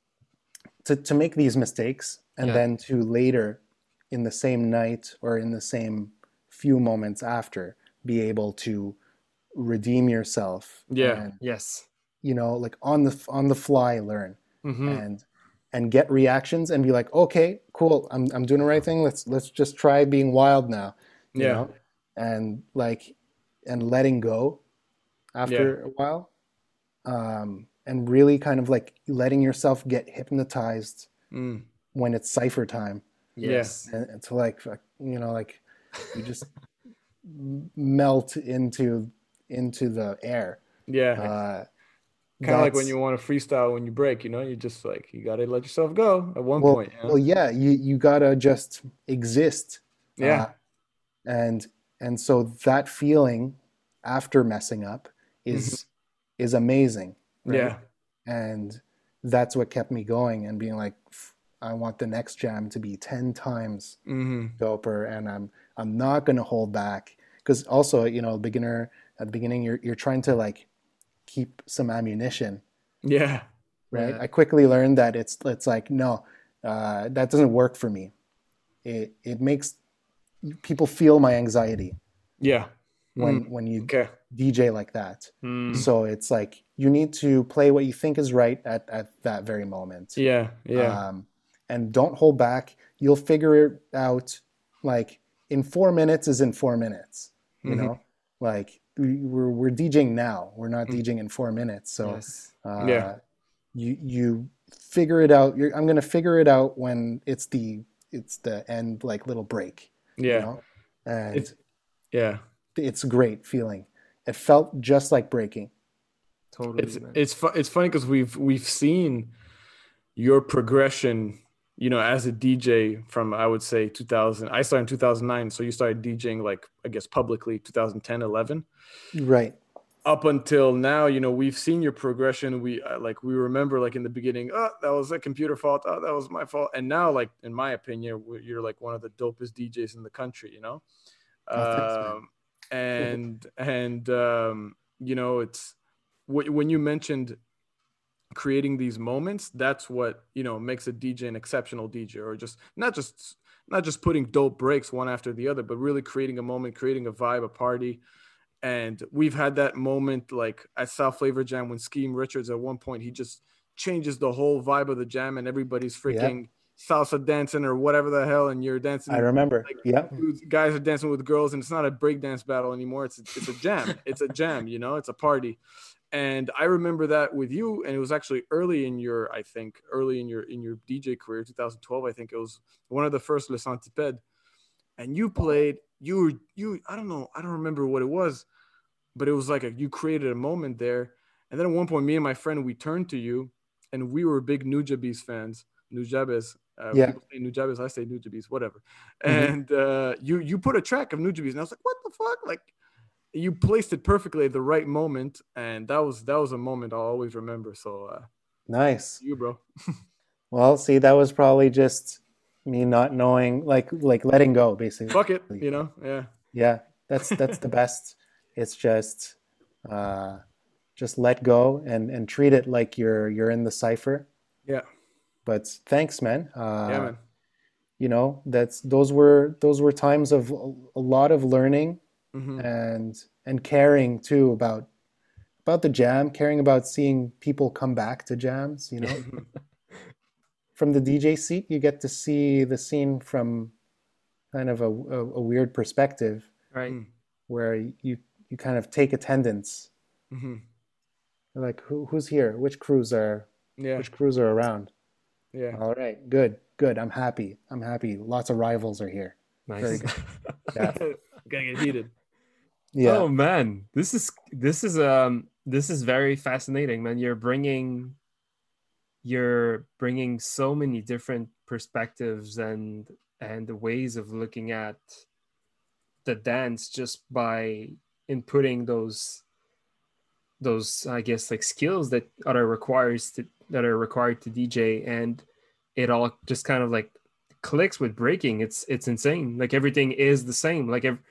[SPEAKER 3] to make these mistakes, and
[SPEAKER 1] Yeah.
[SPEAKER 3] then to later in the same night or in the same few moments after be able to redeem yourself,
[SPEAKER 2] Yeah.
[SPEAKER 3] and
[SPEAKER 1] Yes.
[SPEAKER 3] you know, like on the fly learn,
[SPEAKER 1] Mm-hmm.
[SPEAKER 3] and get reactions and be like, okay, cool, I'm doing the right thing, let's just try being wild now, you
[SPEAKER 2] Yeah.
[SPEAKER 3] know. And like, and letting go
[SPEAKER 2] Yeah.
[SPEAKER 3] after a while, and really kind of like letting yourself get hypnotized
[SPEAKER 2] Mm.
[SPEAKER 3] when it's cipher time,
[SPEAKER 1] Yes.
[SPEAKER 3] and to like, you know, like you just melt into the air.
[SPEAKER 2] Yeah.
[SPEAKER 3] Uh,
[SPEAKER 2] Kind of like when
[SPEAKER 3] that's
[SPEAKER 2] you want to freestyle when you break, you know, you just like, you got to let yourself go at one
[SPEAKER 3] well,
[SPEAKER 2] point, you
[SPEAKER 3] well,
[SPEAKER 2] know?
[SPEAKER 3] yeah, you gotta just exist, uh,
[SPEAKER 2] Yeah.
[SPEAKER 3] and so that feeling after messing up
[SPEAKER 2] Mhm.
[SPEAKER 3] is amazing, right?
[SPEAKER 2] Yeah.
[SPEAKER 3] And that's what kept me going and being like, I want the next jam to be 10 times
[SPEAKER 2] Hmm.
[SPEAKER 3] doper, and I'm not going to hold back, because also, you know, beginner at the beginning, you're trying to like keep some ammunition,
[SPEAKER 2] Yeah.
[SPEAKER 3] right?
[SPEAKER 1] Yeah.
[SPEAKER 3] I quickly learned that it's like, no, that doesn't work for me. It makes people feel my anxiety
[SPEAKER 2] Yeah. Mm.
[SPEAKER 3] when you
[SPEAKER 2] Okay.
[SPEAKER 3] DJ like that.
[SPEAKER 1] Mm.
[SPEAKER 3] So it's like you need to play what you think is right at that very moment.
[SPEAKER 2] Yeah. Yeah.
[SPEAKER 3] And don't hold back. You'll figure it out. Like in 4 minutes is in 4 minutes. You
[SPEAKER 2] Hmm.
[SPEAKER 3] know, like we're DJing now. We're not DJing in 4 minutes. So
[SPEAKER 1] Yes.
[SPEAKER 2] Yeah.
[SPEAKER 3] you figure it out. I'm gonna figure it out when it's the end, like little break. You
[SPEAKER 2] Yeah.
[SPEAKER 3] know, and
[SPEAKER 2] It's, yeah.
[SPEAKER 3] it's a great feeling. It felt just like breaking.
[SPEAKER 1] Totally, man.
[SPEAKER 2] It's funny because we've seen your progression, you know, as a DJ from, I would say, 2000. I started in 2009, so you started DJing like, I guess, publicly 2010, 11.
[SPEAKER 3] Right.
[SPEAKER 2] Up until now, you know, we've seen your progression. We like, we remember like in the beginning, oh, that was a computer fault. Oh, that was my fault. And now, like, in my opinion, you're like one of the dopest DJs in the country, you know?
[SPEAKER 3] Oh, thanks, man.
[SPEAKER 2] And you know, it's when you mentioned creating these moments, that's what, you know, makes a DJ an exceptional DJ, or just not just putting dope breaks one after the other, but really creating a moment, creating a vibe, a party. And we've had that moment like at South Flavor Jam when Skeem Richards at one point, he just changes the whole vibe of the jam, and everybody's
[SPEAKER 3] Yeah,
[SPEAKER 2] freaking salsa dancing or whatever the hell, and you're
[SPEAKER 3] I
[SPEAKER 2] dancing
[SPEAKER 3] remember.
[SPEAKER 2] like
[SPEAKER 3] Yeah,
[SPEAKER 2] dudes, guys are dancing with girls, and it's not a breakdance battle anymore. It's a jam. It's a jam, you know, it's a party. And I remember that with you, and it was actually early in your, I think, early in your DJ career, 2012. I think it was one of the first Les Centipede, and you played. I don't know, I don't remember what it was, but it was like you created a moment there, And then at one point, me and my friend, we turned to you, and we were big Nujabes fans. Nujabes.
[SPEAKER 3] Yeah.
[SPEAKER 2] People say Nujabes, I say Nujabes, whatever.
[SPEAKER 3] Mhm.
[SPEAKER 2] And you put a track of Nujabes, and I was like, what the fuck? Like, you placed it perfectly at the right moment, and that was a moment I'll always remember. So,
[SPEAKER 3] Nice.
[SPEAKER 2] you, bro.
[SPEAKER 3] Well, see, that was probably just me not knowing, like letting go, basically.
[SPEAKER 2] Fuck it, you know? Yeah.
[SPEAKER 3] Yeah, that's the best. It's just let go and treat it like you're in the cipher.
[SPEAKER 2] Yeah.
[SPEAKER 3] But thanks, man.
[SPEAKER 2] Yeah, man.
[SPEAKER 3] You know, those were times of a lot of learning
[SPEAKER 2] Mm-hmm.
[SPEAKER 3] and caring too about the jam, caring about seeing people come back to jams, you know.
[SPEAKER 2] Mm-hmm.
[SPEAKER 3] From the DJ seat, you get to see the scene from kind of a weird perspective
[SPEAKER 1] Right.
[SPEAKER 3] where you kind of take attendance.
[SPEAKER 2] Mm-hmm.
[SPEAKER 3] Like who's here? Which crews are
[SPEAKER 2] Yeah.
[SPEAKER 3] around?
[SPEAKER 2] Yeah.
[SPEAKER 3] All right, good. I'm happy. Lots of rivals are here. Very
[SPEAKER 1] Nice.
[SPEAKER 3] good. Yeah.
[SPEAKER 2] Gotta get heated.
[SPEAKER 3] Yeah.
[SPEAKER 1] Oh man, this is very fascinating, man. You're bringing so many different perspectives and the ways of looking at the dance just by inputting those I guess like skills that are required to DJ, and it all just kind of like clicks with breaking. It's insane. Like everything is the same.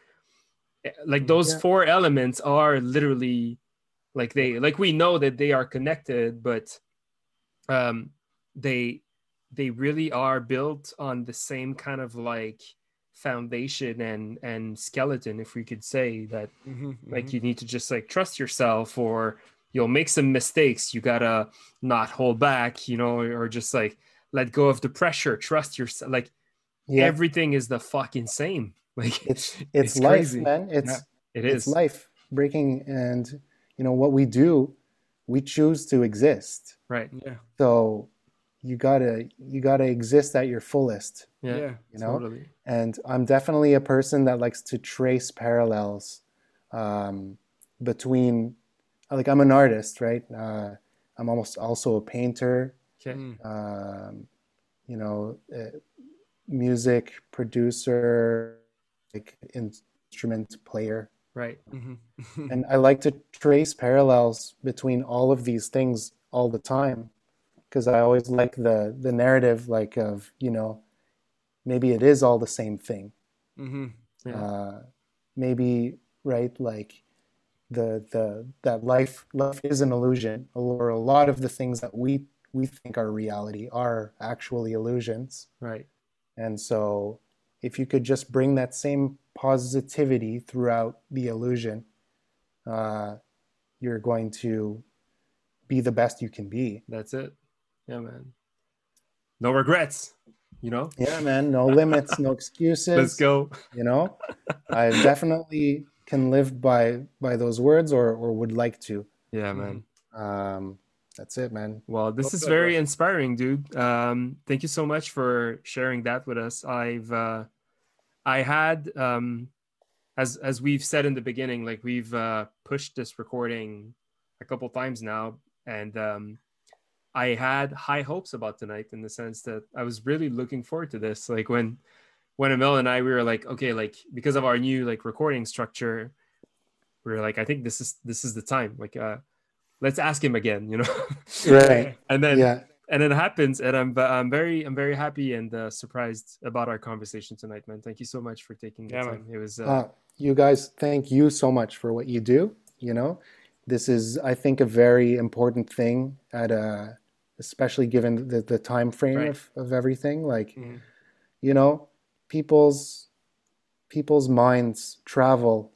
[SPEAKER 1] Like those
[SPEAKER 3] Yeah.
[SPEAKER 1] four elements are literally like we know that they are connected, but um they really are built on the same kind of like foundation and skeleton, if we could say that.
[SPEAKER 2] Mm-hmm.
[SPEAKER 1] Like you need to just like trust yourself, or you'll make some mistakes, you gotta not hold back, you know, or just like let go of the pressure, trust yourself. Like
[SPEAKER 3] Yeah.
[SPEAKER 1] everything is the fucking same. Like
[SPEAKER 3] It's life,
[SPEAKER 1] crazy,
[SPEAKER 3] man.
[SPEAKER 1] Yeah, it is.
[SPEAKER 3] It's life breaking, and you know what we do, we choose to exist.
[SPEAKER 1] Right.
[SPEAKER 2] Yeah.
[SPEAKER 3] So you gotta exist at your fullest,
[SPEAKER 1] Yeah,
[SPEAKER 2] Yeah.
[SPEAKER 3] you know.
[SPEAKER 1] totally.
[SPEAKER 3] And I'm definitely a person that likes to trace parallels between, like, I'm an artist, right? I'm almost also a painter,
[SPEAKER 1] Okay.
[SPEAKER 3] you know, music producer, like instrument player.
[SPEAKER 1] Right.
[SPEAKER 2] Mm-hmm.
[SPEAKER 3] And I like to trace parallels between all of these things all the time, because I always like the narrative, like, of, you know, maybe it is all the same thing.
[SPEAKER 2] Mm-hmm.
[SPEAKER 1] Yeah.
[SPEAKER 3] Maybe, right, like that life is an illusion, or a lot of the things that we think are reality are actually illusions.
[SPEAKER 1] Right.
[SPEAKER 3] And so if you could just bring that same positivity throughout the illusion, you're going to be the best you can be.
[SPEAKER 1] That's it. Yeah, man. No regrets, you know?
[SPEAKER 3] Yeah, man. No limits, no excuses.
[SPEAKER 1] Let's go.
[SPEAKER 3] You know, I definitely can live by those words, or would like to.
[SPEAKER 1] Yeah, man.
[SPEAKER 3] That's it, man.
[SPEAKER 1] Well, this
[SPEAKER 2] Well
[SPEAKER 1] is
[SPEAKER 2] said,
[SPEAKER 1] very
[SPEAKER 2] bro.
[SPEAKER 1] inspiring, dude. Thank you so much for sharing that with us. I had as we've said in the beginning, like we've pushed this recording a couple times now, and I had high hopes about tonight, in the sense that I was really looking forward to this. Like when Emil and I, we were like, okay, like because of our new like recording structure, we were like, I think this is the time. Like let's ask him again, you know.
[SPEAKER 3] Right.
[SPEAKER 1] And then
[SPEAKER 3] Yeah.
[SPEAKER 1] and it happens, and I'm very happy and surprised about our conversation tonight, man. Thank you so much for taking the
[SPEAKER 2] Yeah,
[SPEAKER 1] time.
[SPEAKER 2] man.
[SPEAKER 1] It was
[SPEAKER 3] You guys, thank you so much for what you do. You know, this is, I think, a very important thing especially given the time frame
[SPEAKER 1] Right.
[SPEAKER 3] of everything. Like,
[SPEAKER 2] Mhm.
[SPEAKER 3] you know, people's minds travel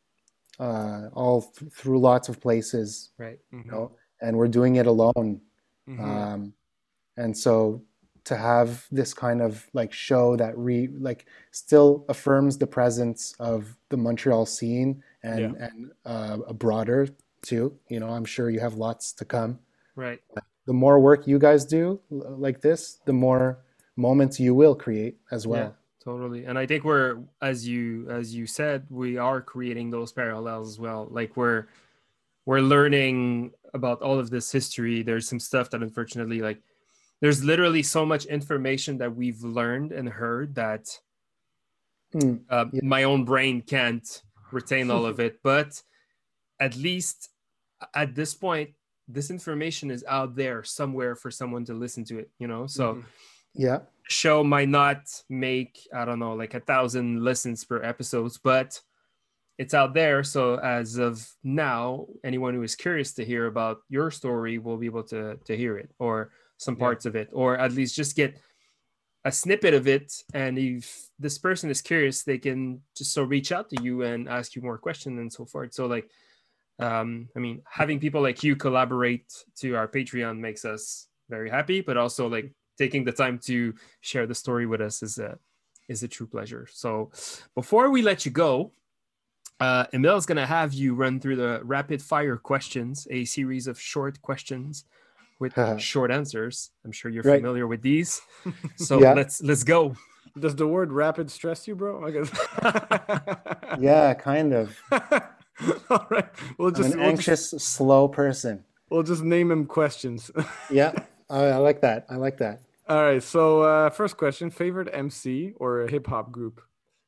[SPEAKER 3] through lots of places,
[SPEAKER 1] right.
[SPEAKER 3] you know, and we're doing it alone.
[SPEAKER 2] Mhm.
[SPEAKER 3] And so to have this kind of like show that still affirms the presence of the Montreal scene and a broader too. You know, I'm sure you have lots to come.
[SPEAKER 1] Right.
[SPEAKER 3] The more work you guys do like this, the more moments you will create as well.
[SPEAKER 1] Yeah, totally. And I think we're, as you said, we are creating those parallels as well. Like we're we're learning about all of this history, there's some stuff that unfortunately, like, there's literally so much information that we've learned and heard that my own brain can't retain all of it. But at least at this point, this information is out there somewhere for someone to listen to it, So show might not make, I don't know, like 1,000 listens per episodes, but it's out there. So as of now, anyone who is curious to hear about your story will be able to hear it, or some parts of it, or at least just get a snippet of it. And if this person is curious, they can just reach out to you and ask you more questions and so forth. So like, I mean, having people like you collaborate to our Patreon makes us very happy, but also like taking the time to share the story with us is a true pleasure. So before we let you go, Emil is going to have you run through the rapid fire questions, a series of short questions with short answers. I'm sure you're familiar with these. So let's go.
[SPEAKER 2] Does the word rapid stress you, bro? I guess.
[SPEAKER 3] Yeah, kind of.
[SPEAKER 2] All right.
[SPEAKER 3] I'm an anxious, slow person.
[SPEAKER 2] We'll just name him questions.
[SPEAKER 3] Yeah, I like that.
[SPEAKER 2] All right. So first question, favorite MC or a hip hop group?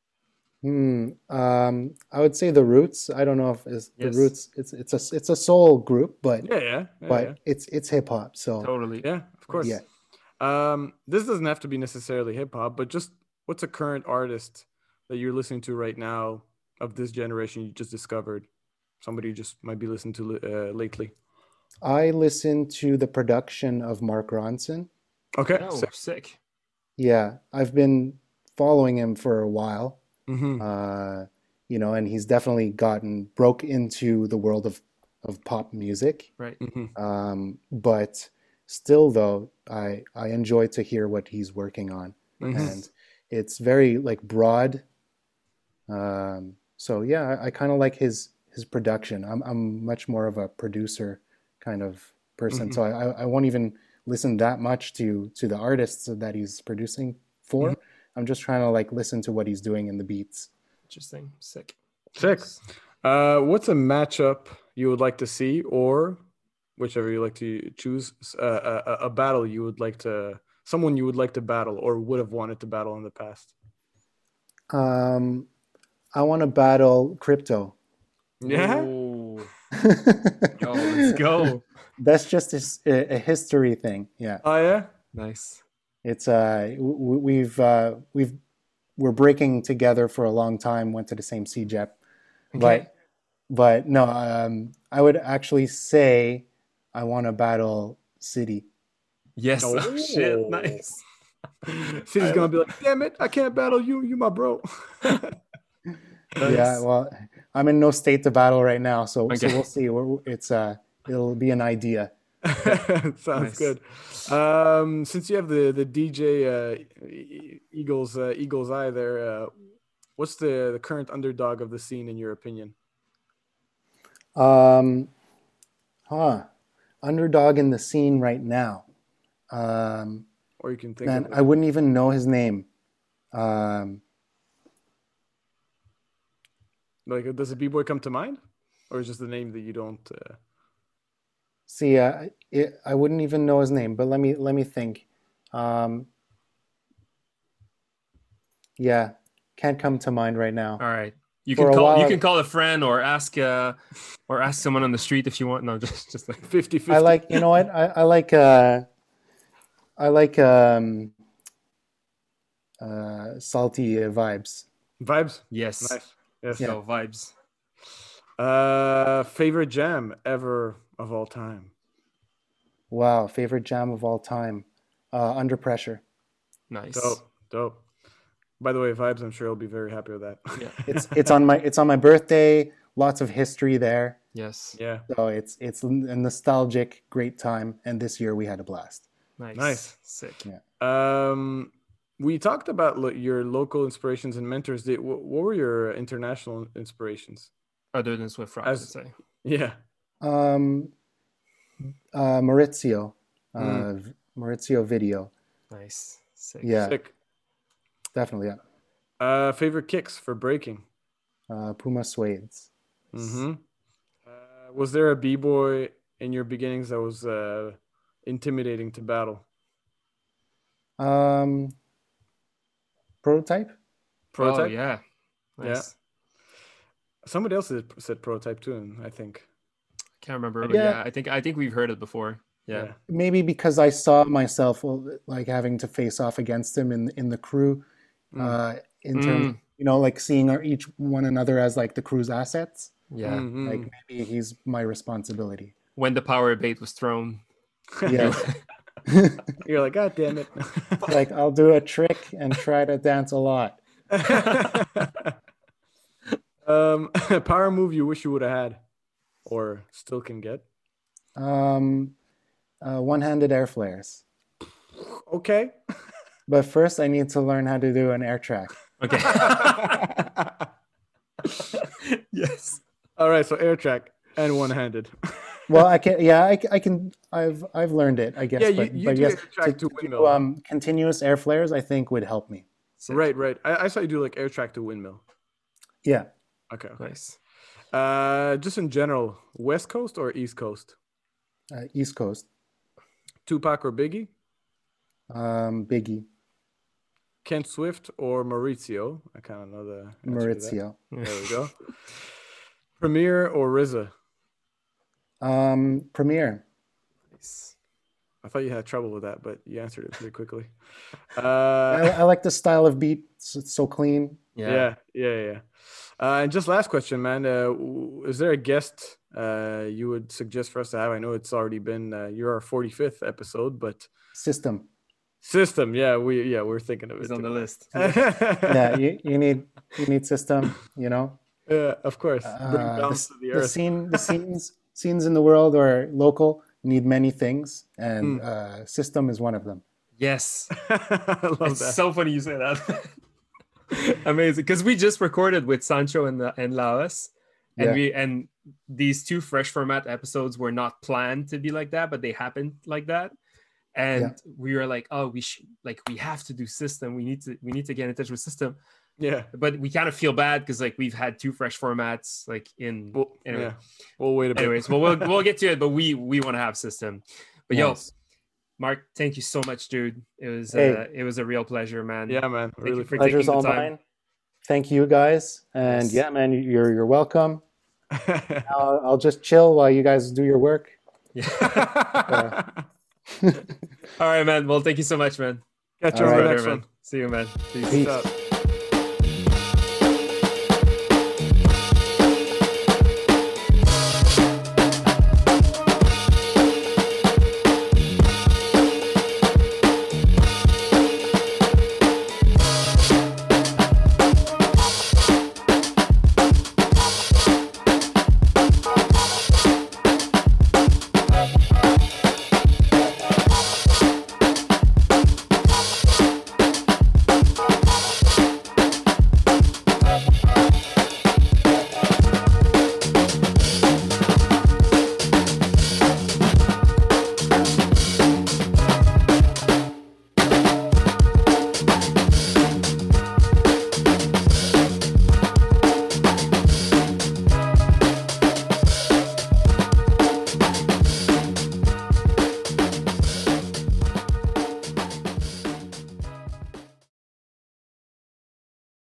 [SPEAKER 3] I would say The Roots. I don't know if The Roots. It's a soul group, but it's hip hop. So
[SPEAKER 1] totally,
[SPEAKER 2] of course.
[SPEAKER 3] Yeah.
[SPEAKER 2] This doesn't have to be necessarily hip hop, but just what's a current artist that you're listening to right now of this generation you just discovered? Somebody you just might be listening to lately.
[SPEAKER 3] I listen to the production of Mark Ronson.
[SPEAKER 2] Okay,
[SPEAKER 1] sick.
[SPEAKER 3] Yeah, I've been following him for a while.
[SPEAKER 2] Mm-hmm.
[SPEAKER 3] And he's definitely broke into the world of pop music.
[SPEAKER 1] Right.
[SPEAKER 2] Mm-hmm.
[SPEAKER 3] But still, though, I enjoy to hear what he's working on, and it's very like broad. So yeah, I kind of like his production. I'm much more of a producer kind of person, so I won't even listen that much to the artists that he's producing for. I'm just trying to like listen to what he's doing in the beats.
[SPEAKER 1] Interesting. Sick.
[SPEAKER 2] What's a matchup you would like to see, or whichever you like to choose, a battle you would like to, someone you would like to battle or would have wanted to battle in the past?
[SPEAKER 3] I want to battle Crypto.
[SPEAKER 2] Yeah.
[SPEAKER 1] Yo, let's go.
[SPEAKER 3] That's just a history thing. Yeah.
[SPEAKER 2] Oh yeah.
[SPEAKER 1] Nice.
[SPEAKER 3] It's we're breaking together for a long time. Went to the same CJEP, but no. I would actually say I want to battle City.
[SPEAKER 1] Yes. Oh, shit. Nice.
[SPEAKER 2] City's gonna be like, damn it, I can't battle you. You my bro.
[SPEAKER 3] Nice. Yeah. Well, I'm in no state to battle right now, so we'll see. It'll be an idea.
[SPEAKER 2] Sounds good. Since you have the DJ Eagle's Eye there, what's the current underdog of the scene in your opinion?
[SPEAKER 3] Underdog in the scene right now.
[SPEAKER 2] Or you can think.
[SPEAKER 3] Man, I wouldn't even know his name.
[SPEAKER 2] Like, does a B-boy come to mind, or is just the name that you don't?
[SPEAKER 3] See, I wouldn't even know his name, but let me think. Yeah, can't come to mind right now.
[SPEAKER 1] All right, you can call a friend or ask someone on the street if you want. No, just like
[SPEAKER 2] 50-50.
[SPEAKER 3] I like, you know what? I like salty vibes.
[SPEAKER 2] Vibes.
[SPEAKER 1] Yes.
[SPEAKER 2] Nice. Yes.
[SPEAKER 1] Yeah. Vibes.
[SPEAKER 2] Favorite jam ever of all time?
[SPEAKER 3] Wow, favorite jam of all time. Under Pressure.
[SPEAKER 1] Nice.
[SPEAKER 2] Dope. By the way, Vibes, I'm sure he'll be very happy with that.
[SPEAKER 1] Yeah.
[SPEAKER 3] It's on my birthday. Lots of history there.
[SPEAKER 1] Yes.
[SPEAKER 2] Yeah.
[SPEAKER 3] So it's a nostalgic, great time, and this year we had a blast.
[SPEAKER 2] Nice.
[SPEAKER 1] Sick.
[SPEAKER 3] Yeah.
[SPEAKER 2] We talked about your local inspirations and mentors. What were your international inspirations?
[SPEAKER 1] Other than Swift Rock, I'd say.
[SPEAKER 2] Yeah.
[SPEAKER 3] Maurizio. Maurizio Video.
[SPEAKER 1] Nice. Sick.
[SPEAKER 3] Yeah.
[SPEAKER 2] Sick.
[SPEAKER 3] Definitely, yeah.
[SPEAKER 2] Favorite kicks for breaking?
[SPEAKER 3] Puma Suedes.
[SPEAKER 2] Mm-hmm. Was there a b-boy in your beginnings that was intimidating to battle?
[SPEAKER 3] Prototype.
[SPEAKER 2] Prototype?
[SPEAKER 1] Oh yeah.
[SPEAKER 2] Yeah.
[SPEAKER 1] Nice.
[SPEAKER 2] Somebody else said prototype too, I think.
[SPEAKER 1] Can't remember, but
[SPEAKER 3] Yeah.
[SPEAKER 1] yeah, I think we've heard it before. Yeah.
[SPEAKER 3] Maybe because I saw myself like having to face off against him in the crew, in terms, like seeing each one another as like the crew's assets.
[SPEAKER 1] Yeah.
[SPEAKER 3] Like maybe he's my responsibility.
[SPEAKER 1] When the power bait was thrown.
[SPEAKER 3] Yeah.
[SPEAKER 2] You're like, God damn it.
[SPEAKER 3] Like I'll do a trick and try to dance a lot.
[SPEAKER 2] Power move you wish you would have had or still can get?
[SPEAKER 3] One-handed air flares.
[SPEAKER 2] Okay.
[SPEAKER 3] But first I need to learn how to do an air track.
[SPEAKER 1] Okay. Yes.
[SPEAKER 2] All right, so air track and one-handed.
[SPEAKER 3] Well, I can. Yeah, I can. I've learned it. I guess.
[SPEAKER 2] Yeah,
[SPEAKER 3] but
[SPEAKER 2] you do
[SPEAKER 3] yes,
[SPEAKER 2] air track to
[SPEAKER 3] do,
[SPEAKER 2] windmill.
[SPEAKER 3] continuous air flares, I think, would help me.
[SPEAKER 1] Sick.
[SPEAKER 2] Right. I saw you do like air track to windmill.
[SPEAKER 3] Yeah.
[SPEAKER 2] Okay.
[SPEAKER 1] Nice.
[SPEAKER 2] Just in general, West Coast or East Coast?
[SPEAKER 3] East Coast.
[SPEAKER 2] Tupac or Biggie?
[SPEAKER 3] Biggie.
[SPEAKER 2] Kent Swift or Maurizio? I kind of know the answer to that.
[SPEAKER 3] Maurizio.
[SPEAKER 2] There we go. Premier or RZA?
[SPEAKER 3] Premiere.
[SPEAKER 1] Nice.
[SPEAKER 2] I thought you had trouble with that, but you answered it pretty quickly.
[SPEAKER 3] I like the style of beat. It's so clean.
[SPEAKER 2] Yeah. And just last question, man. Is there a guest you would suggest for us to have? I know it's already been you're our 45th episode, but
[SPEAKER 3] System.
[SPEAKER 2] yeah, we're thinking of it.
[SPEAKER 1] He's on the list.
[SPEAKER 3] Yeah, you need System.
[SPEAKER 2] Yeah, of course. Bring balance to the earth.
[SPEAKER 3] The scenes in the world or local need many things, and System is one of them.
[SPEAKER 1] Yes.
[SPEAKER 2] I love
[SPEAKER 1] It's
[SPEAKER 2] that.
[SPEAKER 1] so funny you say that. Amazing. Because we just recorded with Sancho and Laos. And
[SPEAKER 3] Yeah.
[SPEAKER 1] these two fresh format episodes were not planned to be like that, but they happened like that. And we were like, oh, we have to do System. We need to get in touch with System.
[SPEAKER 2] Yeah.
[SPEAKER 1] But we kind of feel bad because like we've had two fresh formats like in anyway.
[SPEAKER 2] Yeah. We'll wait a bit.
[SPEAKER 1] Anyways, well we'll get to it, but we want to have System. But
[SPEAKER 3] Nice.
[SPEAKER 1] Mark, thank you so much, dude. It was a real pleasure, man.
[SPEAKER 2] Yeah, man.
[SPEAKER 1] Thank you for
[SPEAKER 3] Pleasure's
[SPEAKER 1] taking
[SPEAKER 3] all
[SPEAKER 1] the time.
[SPEAKER 3] mine. Thank you, guys. And
[SPEAKER 1] Yes.
[SPEAKER 3] yeah, man, you're welcome. I'll just chill while you guys do your work.
[SPEAKER 1] Yeah. All right, man. Well, thank you so much, man.
[SPEAKER 2] Catch you
[SPEAKER 3] All
[SPEAKER 2] on the
[SPEAKER 3] right.
[SPEAKER 2] next one.
[SPEAKER 1] Man. See you, man. Peace.
[SPEAKER 3] Peace.
[SPEAKER 2] Peace out.